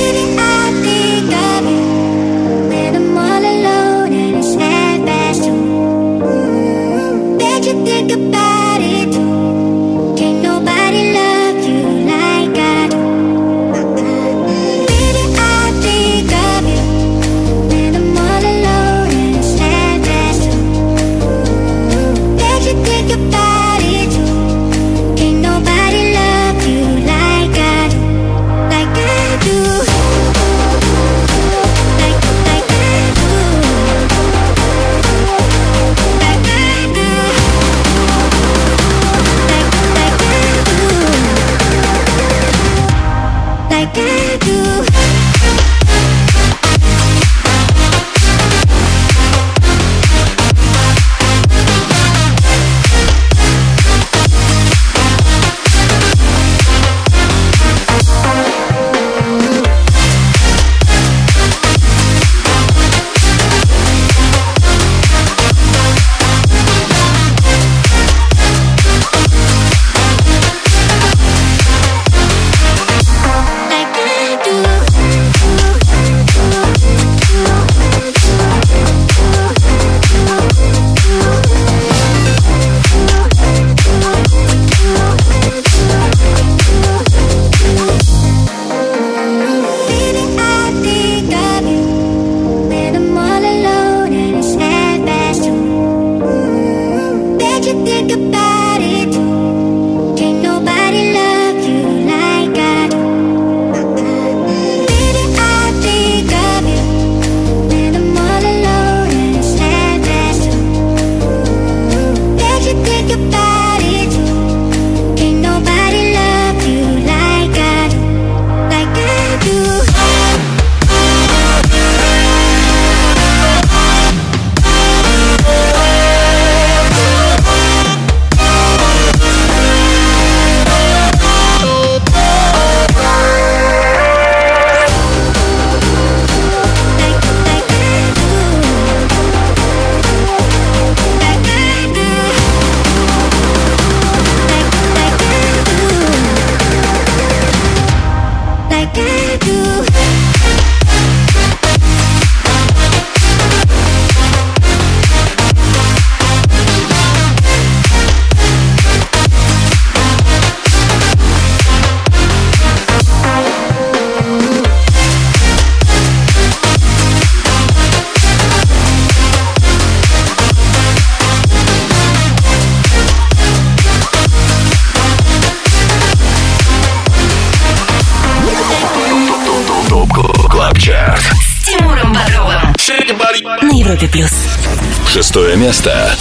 на Европе Плюс. Шестое место.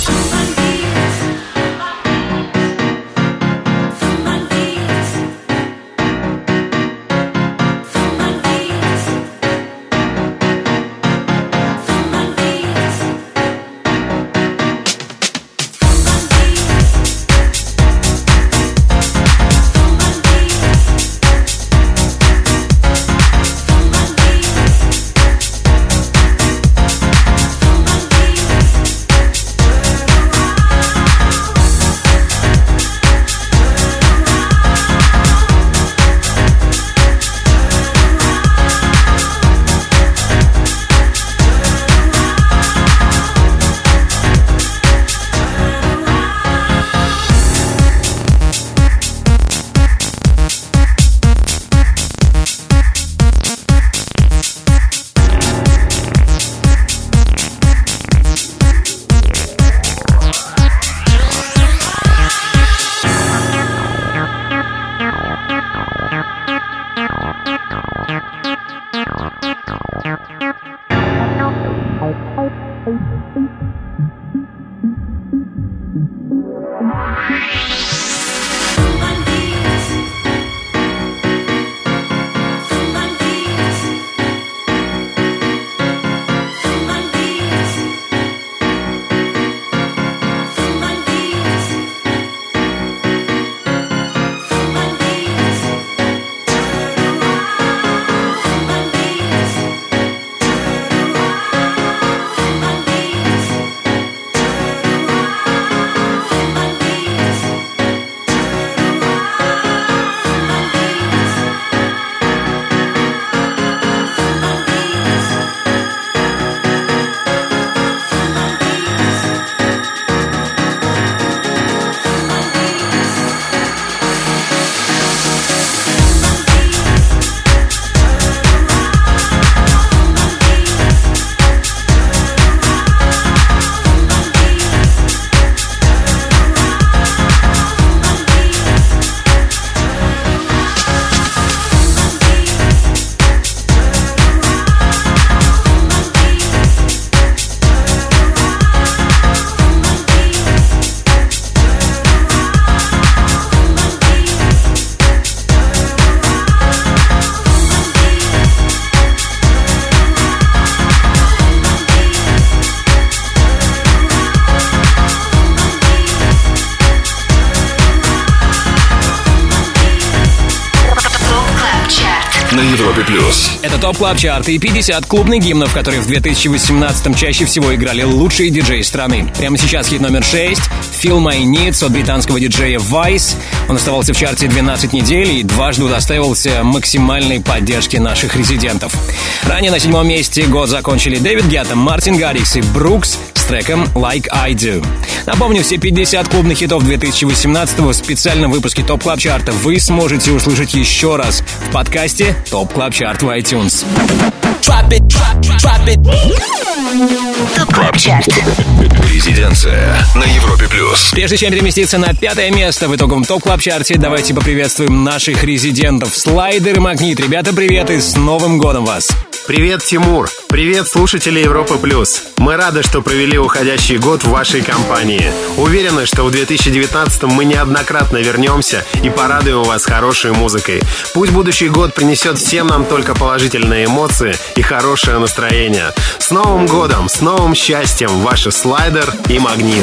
плюс. Это ТОП Клаб Чарт и пятьдесят клубных гимнов, которые в две тысячи восемнадцатом чаще всего играли лучшие диджеи страны. Прямо сейчас хит номер шесть «Feel My Needs» от британского диджея Vice. Он оставался в чарте двенадцать недель и дважды удостаивался максимальной поддержки наших резидентов. Ранее на седьмом месте год закончили Дэвид Гетта, Мартин Гаррикс и Брукс с треком «Like I Do». Напомню, все пятьдесят клубных хитов две тысячи восемнадцатого в специальном выпуске ТОП Клаб Чарта вы сможете услышать еще раз в подкасте ТОП Клаб Чарт в iTunes. Drop it, drop, drop it. ТОП Клаб Чарт. Резиденция на Европе плюс. Прежде чем переместиться на пятое место в итоговом ТОП Клаб Чарте, давайте поприветствуем наших резидентов. Слайдер и Магнит. Ребята, привет и с Новым годом вас! Привет, Тимур! Привет, слушатели Европы плюс! Мы рады, что провели уходящий год в вашей компании. Уверены, что в две тысячи девятнадцатом мы неоднократно вернемся и порадуем вас хорошей музыкой. Пусть будущий год принесет всем нам только положительные эмоции и хорошее настроение. С Новым годом, с новым счастьем, ваши Слайдер и Магнит.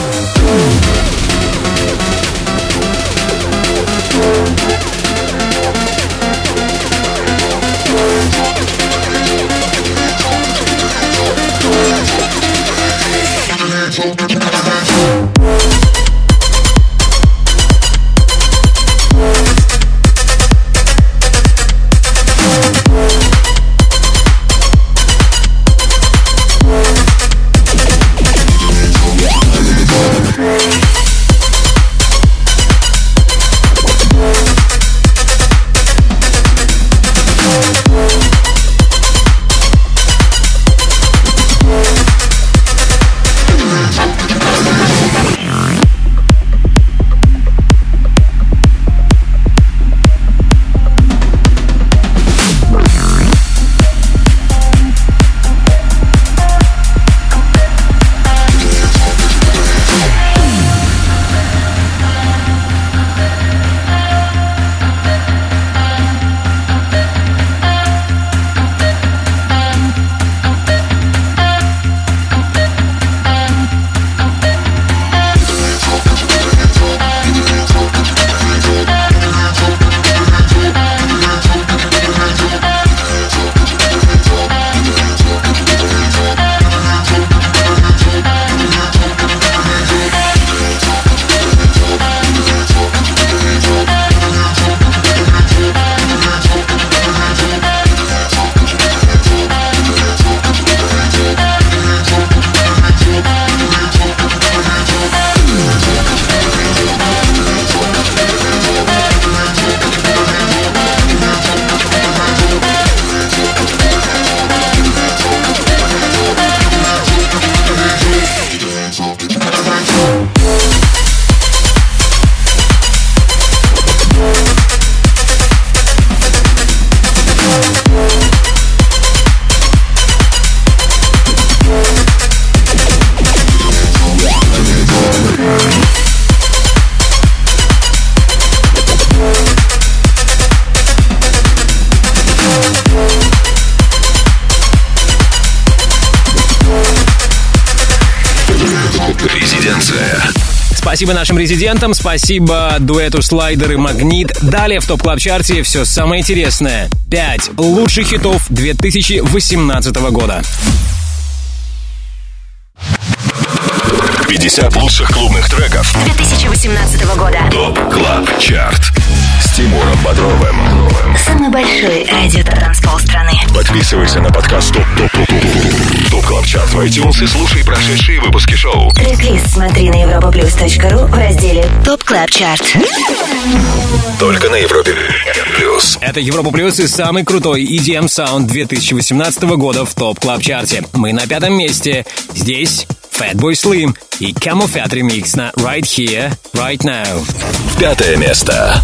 Спасибо нашим резидентам, спасибо дуэту Слайдер и Магнит. Далее в ТОП Клаб Чарте все самое интересное. Пять лучших хитов две тысячи восемнадцатого года. пятьдесят лучших клубных треков две тысячи восемнадцатого года. ТОП Клаб Чарт с Тимуром Бодровым. Самый большой радио-транспол страны. Подписывайся на подкаст ТОП ТОП ТОП ТОП Клаб Чарт в iTunes и слушай прошедшие выпуски шоу. Трек-лист смотри на европаплюс точка ру в разделе ТОП Клаб Чарт. Только на Европе плюс. Это Европа плюс и самый крутой и ди эм саунд две тысячи восемнадцатого года в ТОП Клаб Чарте. Мы на пятом месте. Здесь Fatboy Slim и Camel Fat ремикс на Right Here, Right Now. Пятое место.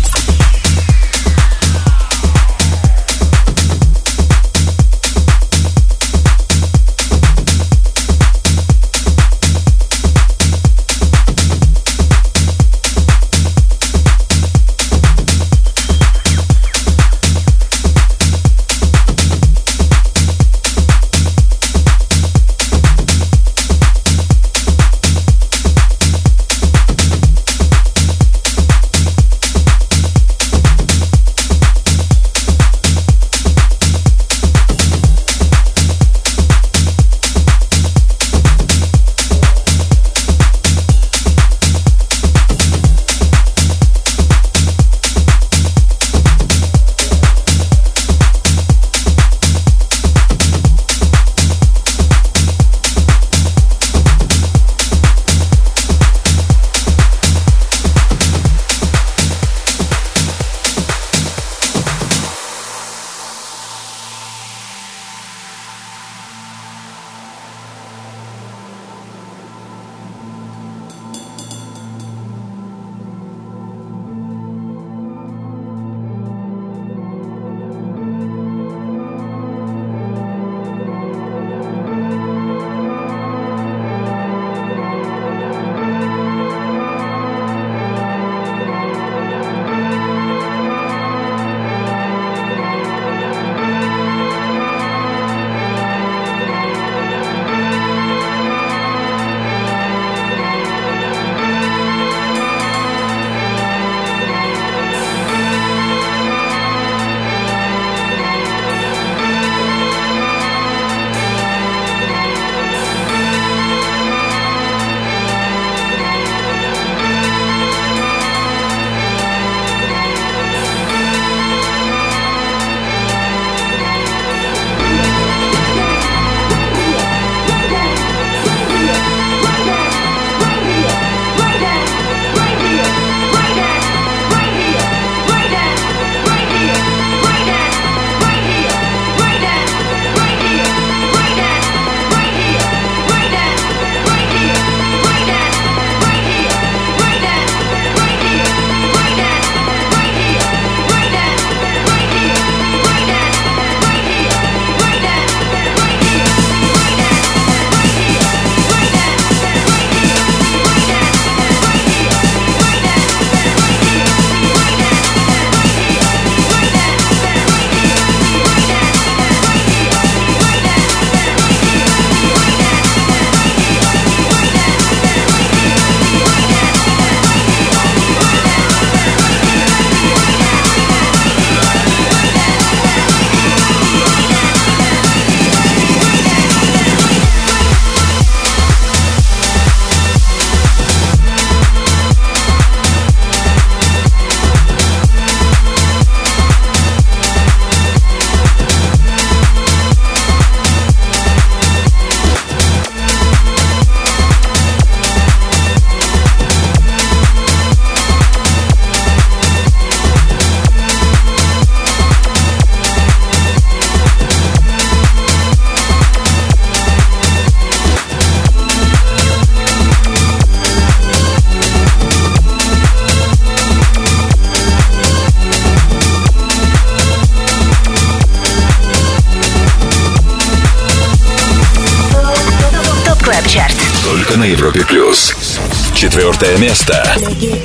Клаб Чарт. Только на Европе Плюс. Четвертое место.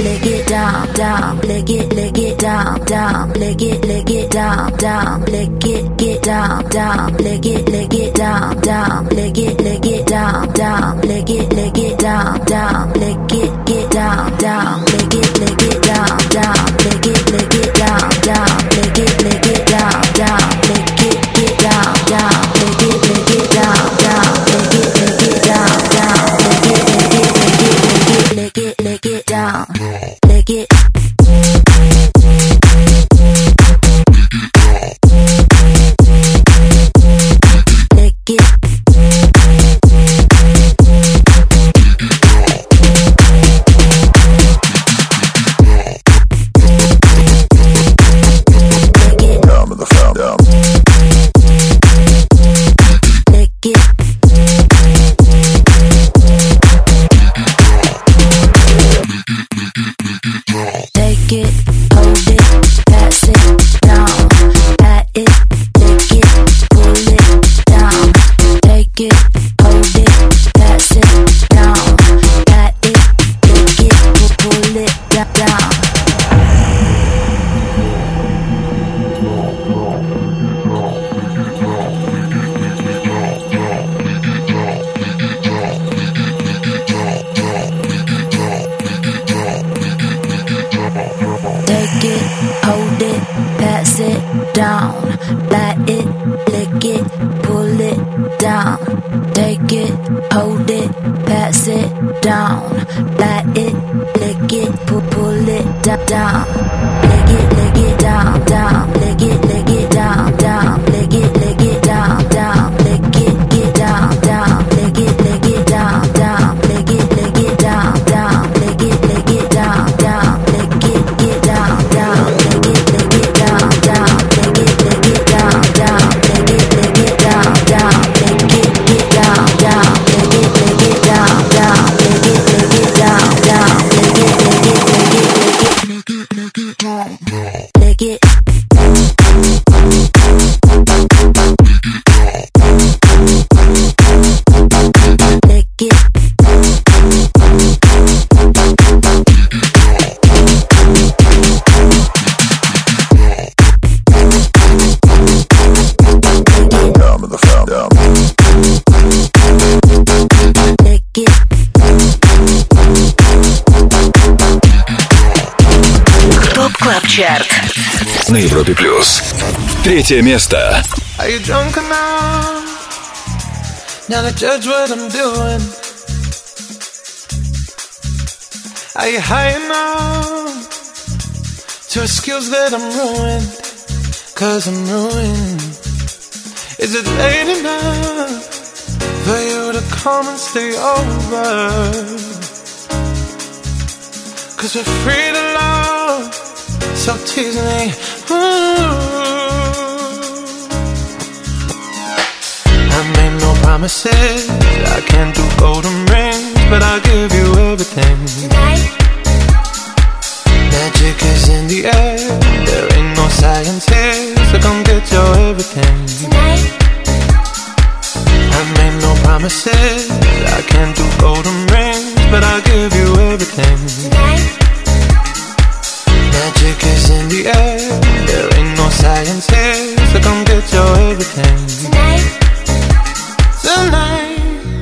На Европе Плюс. Третье место. Are you drunk enough now to judge what I'm doing? Are you high enough to excuse that I'm ruined? Cause I'm ruined. Is it late enough for you to come and stay over? Cause we're free to love, so tease me. Ooh. I made no promises, I can't do golden rings, but I'll give you everything. Tonight. Magic is in the air, there ain't no science here, so come get your everything. Tonight. I made no promises, I can't do golden rings, but I'll give you everything. Tonight. Magic is in the air, there ain't no science here, so come get your everything. Tonight. Tonight.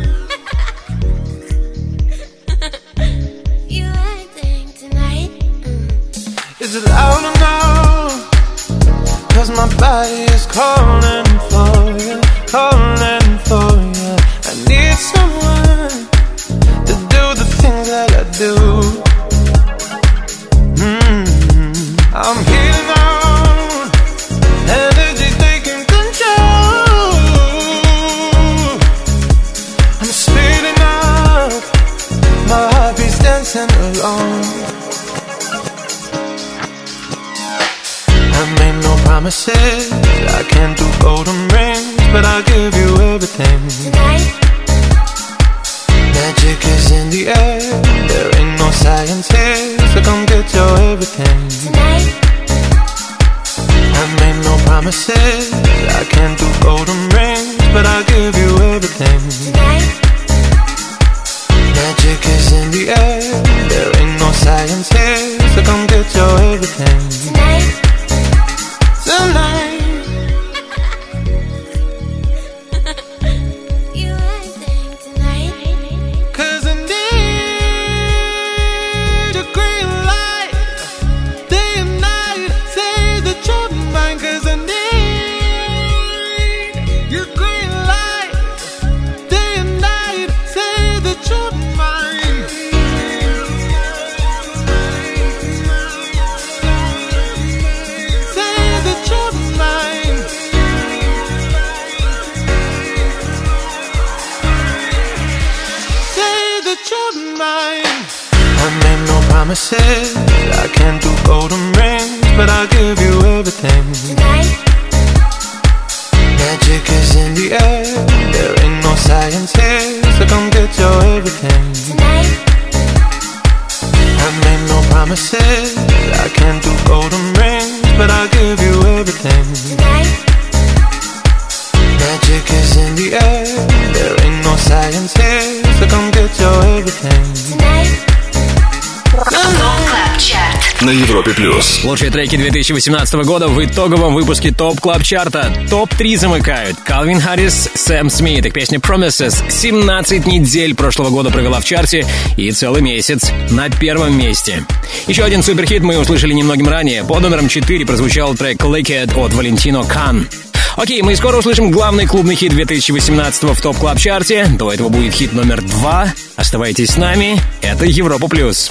You acting tonight. Mm. Is it loud enough? Cause my body is calling for you, calling for you. I need someone to do the things that I do. I'm healing out, energy taking control. I'm speeding up, my heartbeat's dancing alone. I made no promises, I can't do golden rings, but I'll give you everything. Tonight. Magic is in the air, there ain't no science here, so come get your everything. Tonight. I made no promises, I can't do golden rings, but I'll give you everything. Tonight. Magic is in the air. There ain't no science here, so come get your everything tonight. Tonight. Promises, I can't do golden rings, but I'll give you everything tonight. Magic is in the air. There ain't no science here, so come get your everything tonight. I made no promises, I can't do golden rings, but I'll give you everything tonight. Magic is in the air. There ain't no science here, so come get your everything tonight. На Европе плюс. Лучшие треки две тысячи восемнадцатого года в итоговом выпуске ТОП Клаб Чарта. топ три замыкают Калвин Харрис, Сэм Смит. Их песня Promises семнадцать недель прошлого года провела в чарте и целый месяц на первом месте. Еще один суперхит мы услышали немногим ранее. Под номером четыре прозвучал трек Lick It от Валентино Кан. Окей, мы скоро услышим главный клубный хит две тысячи восемнадцатого в ТОП Клаб Чарте. До этого будет хит номер два. Оставайтесь с нами. Это Европа Плюс.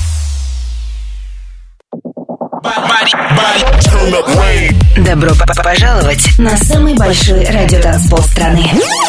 Добро пожаловать на самый большой радиотанцпол страны.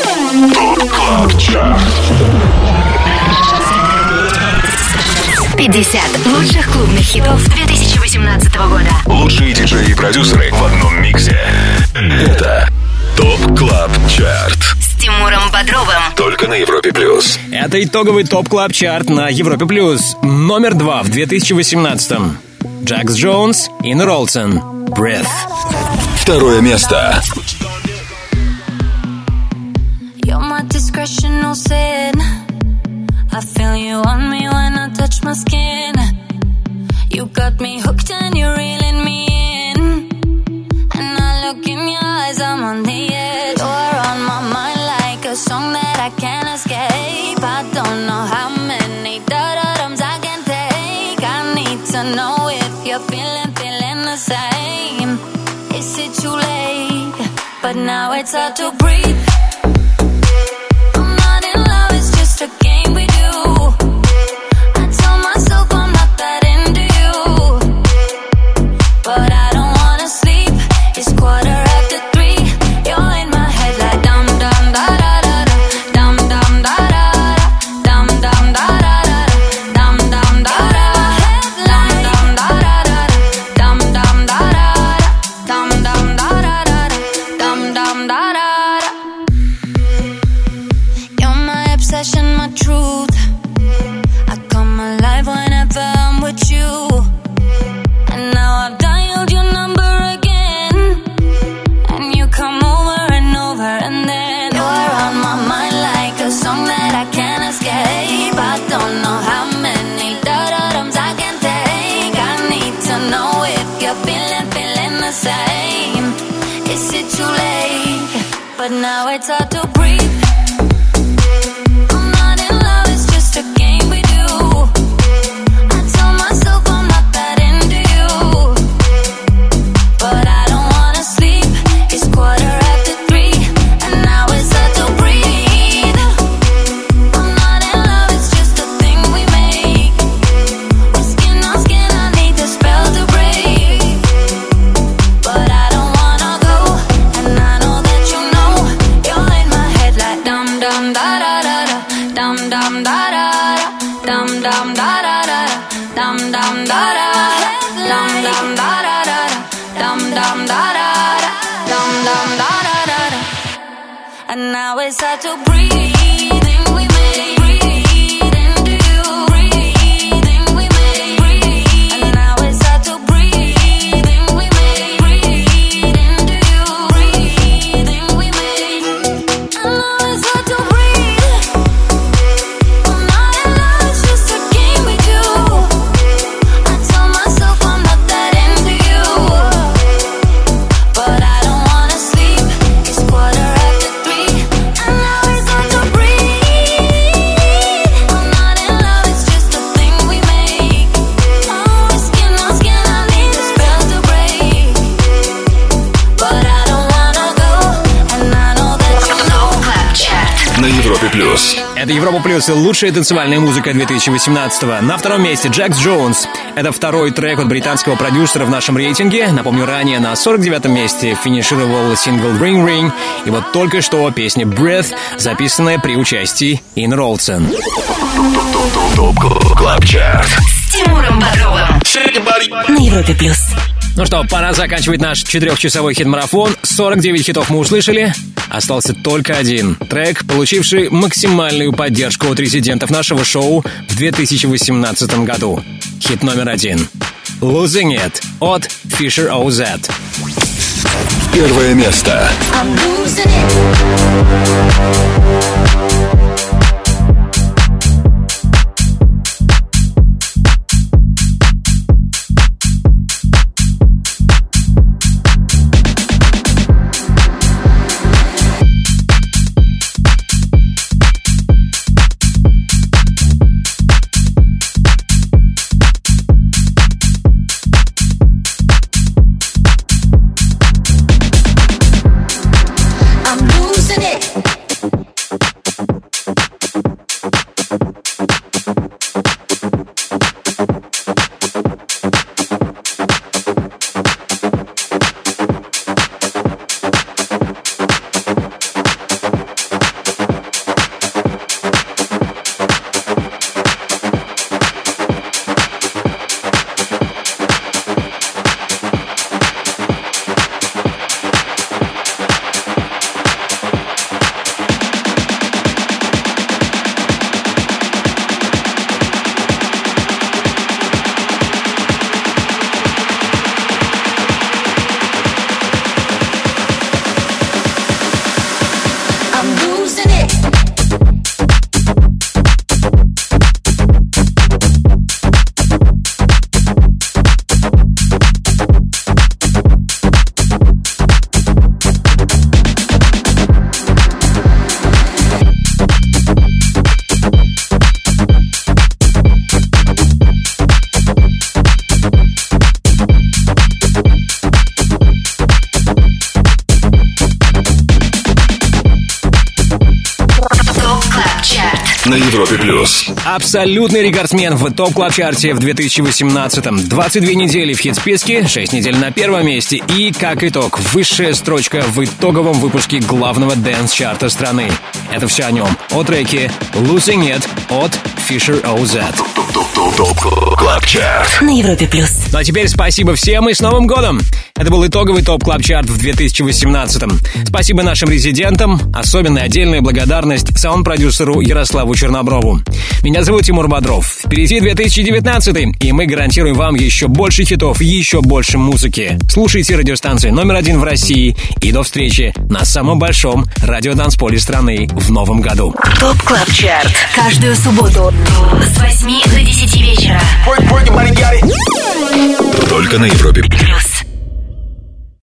пятьдесят лучших клубных хитов две тысячи восемнадцатого года. Лучшие диджеи и продюсеры в одном миксе. Это ТОП Клаб Чарт с Тимуром Бодровым. Только на Европе плюс. Это итоговый ТОП Клаб Чарт на Европе плюс. Номер два в две тысячи восемнадцатом. Джакс Джонс и Ролсон. Breath. Второе место. You're my discretional sin. I feel you on me when I touch my skin. You got me hooked and you're reeling me in. And I look in your eyes, I'm on the edge. You're on my mind like a song that I can't escape. I don't know how many da-da-dums I can take. I need to know if you're feeling, feeling the same. Is it too late? But now it's hard to breathe. I'm not in love, it's just a game we do. I tell myself I'm not that into you, but I don't wanna sleep. It's quarter after three. You're in my head like dum dum da da da da, dum dum da da da, dum dum da da da, dum dum da da da, dum dum da da da, dum dum da da da, dum dum da da da. You're my obsession, my truth. I come alive whenever I'm with you. And now I've dialed your number again, and you come over and over, and then you're on my mind like a song that I can't escape. I don't know how many da-da-dums I can take. I need to know if you're feeling, feeling the same. Is it too late? But now it's hard to breathe. I'm not in love, it's just a game we do. I tell myself I'm not that into you, but I don't wanna sleep. It's quarter after three, and now it's hard to breathe. I'm not in love, it's just a thing we make. We're skin on skin, I need the spell to break. But I don't wanna go, and I know that you know. You're in my head like dum dum da da da da, dum dum da da da, dum dum da da da, dum dum da da da, dum dum da da da, dum dum da da da, dum dum da da da. And now it's hard to breathe. We made breathe into you. Breathing we made breathe. And now it's hard to breathe. We made breathe into you. Breathing we made. And now it's hard to breathe. I'm not in на Европе плюс. Это Европа плюс и лучшая танцевальная музыка две тысячи восемнадцатого. На втором месте Джекс Джонс. Это второй трек от британского продюсера в нашем рейтинге. Напомню, ранее на сорок девятом месте финишировал сингл Ring Ring. И вот только что песня Breath, записанная при участии Ин Ролсон. Клаб Чарт С Тимуром Бодровым на Европе плюс. Ну что, пора заканчивать наш четырехчасовой хит-марафон. сорок девять хитов мы услышали. Остался только один трек, получивший максимальную поддержку от резидентов нашего шоу в две тысячи восемнадцатом году. Хит номер один. Losing It от Fisher о зет. Первое место. I'm losing it. На Европе плюс. Абсолютный рекордсмен в топ-клаб-чарте в две тысячи восемнадцатом. двадцать две недели в хит-списке, шесть недель на первом месте и, как итог, высшая строчка в итоговом выпуске главного дэнс-чарта страны. Это все о нем. О треке Losing It от Fisher о зет. Топ-клаб-чарт на Европе плюс. Ну а теперь спасибо всем и с Новым годом! Это был итоговый топ-клаб-чарт в две тысячи восемнадцатом. Спасибо нашим резидентам, особенная отдельная благодарность саунд-продюсеру Ярославу Черноброву. Меня зовут Тимур Бодров. Впереди две тысячи девятнадцатый, и мы гарантируем вам еще больше хитов, еще больше музыки. Слушайте радиостанцию номер один в России, и до встречи на самом большом радиотанцполе страны в новом году. Топ Клаб Чарт. Каждую субботу с восьми до десяти вечера. Только на Европе плюс.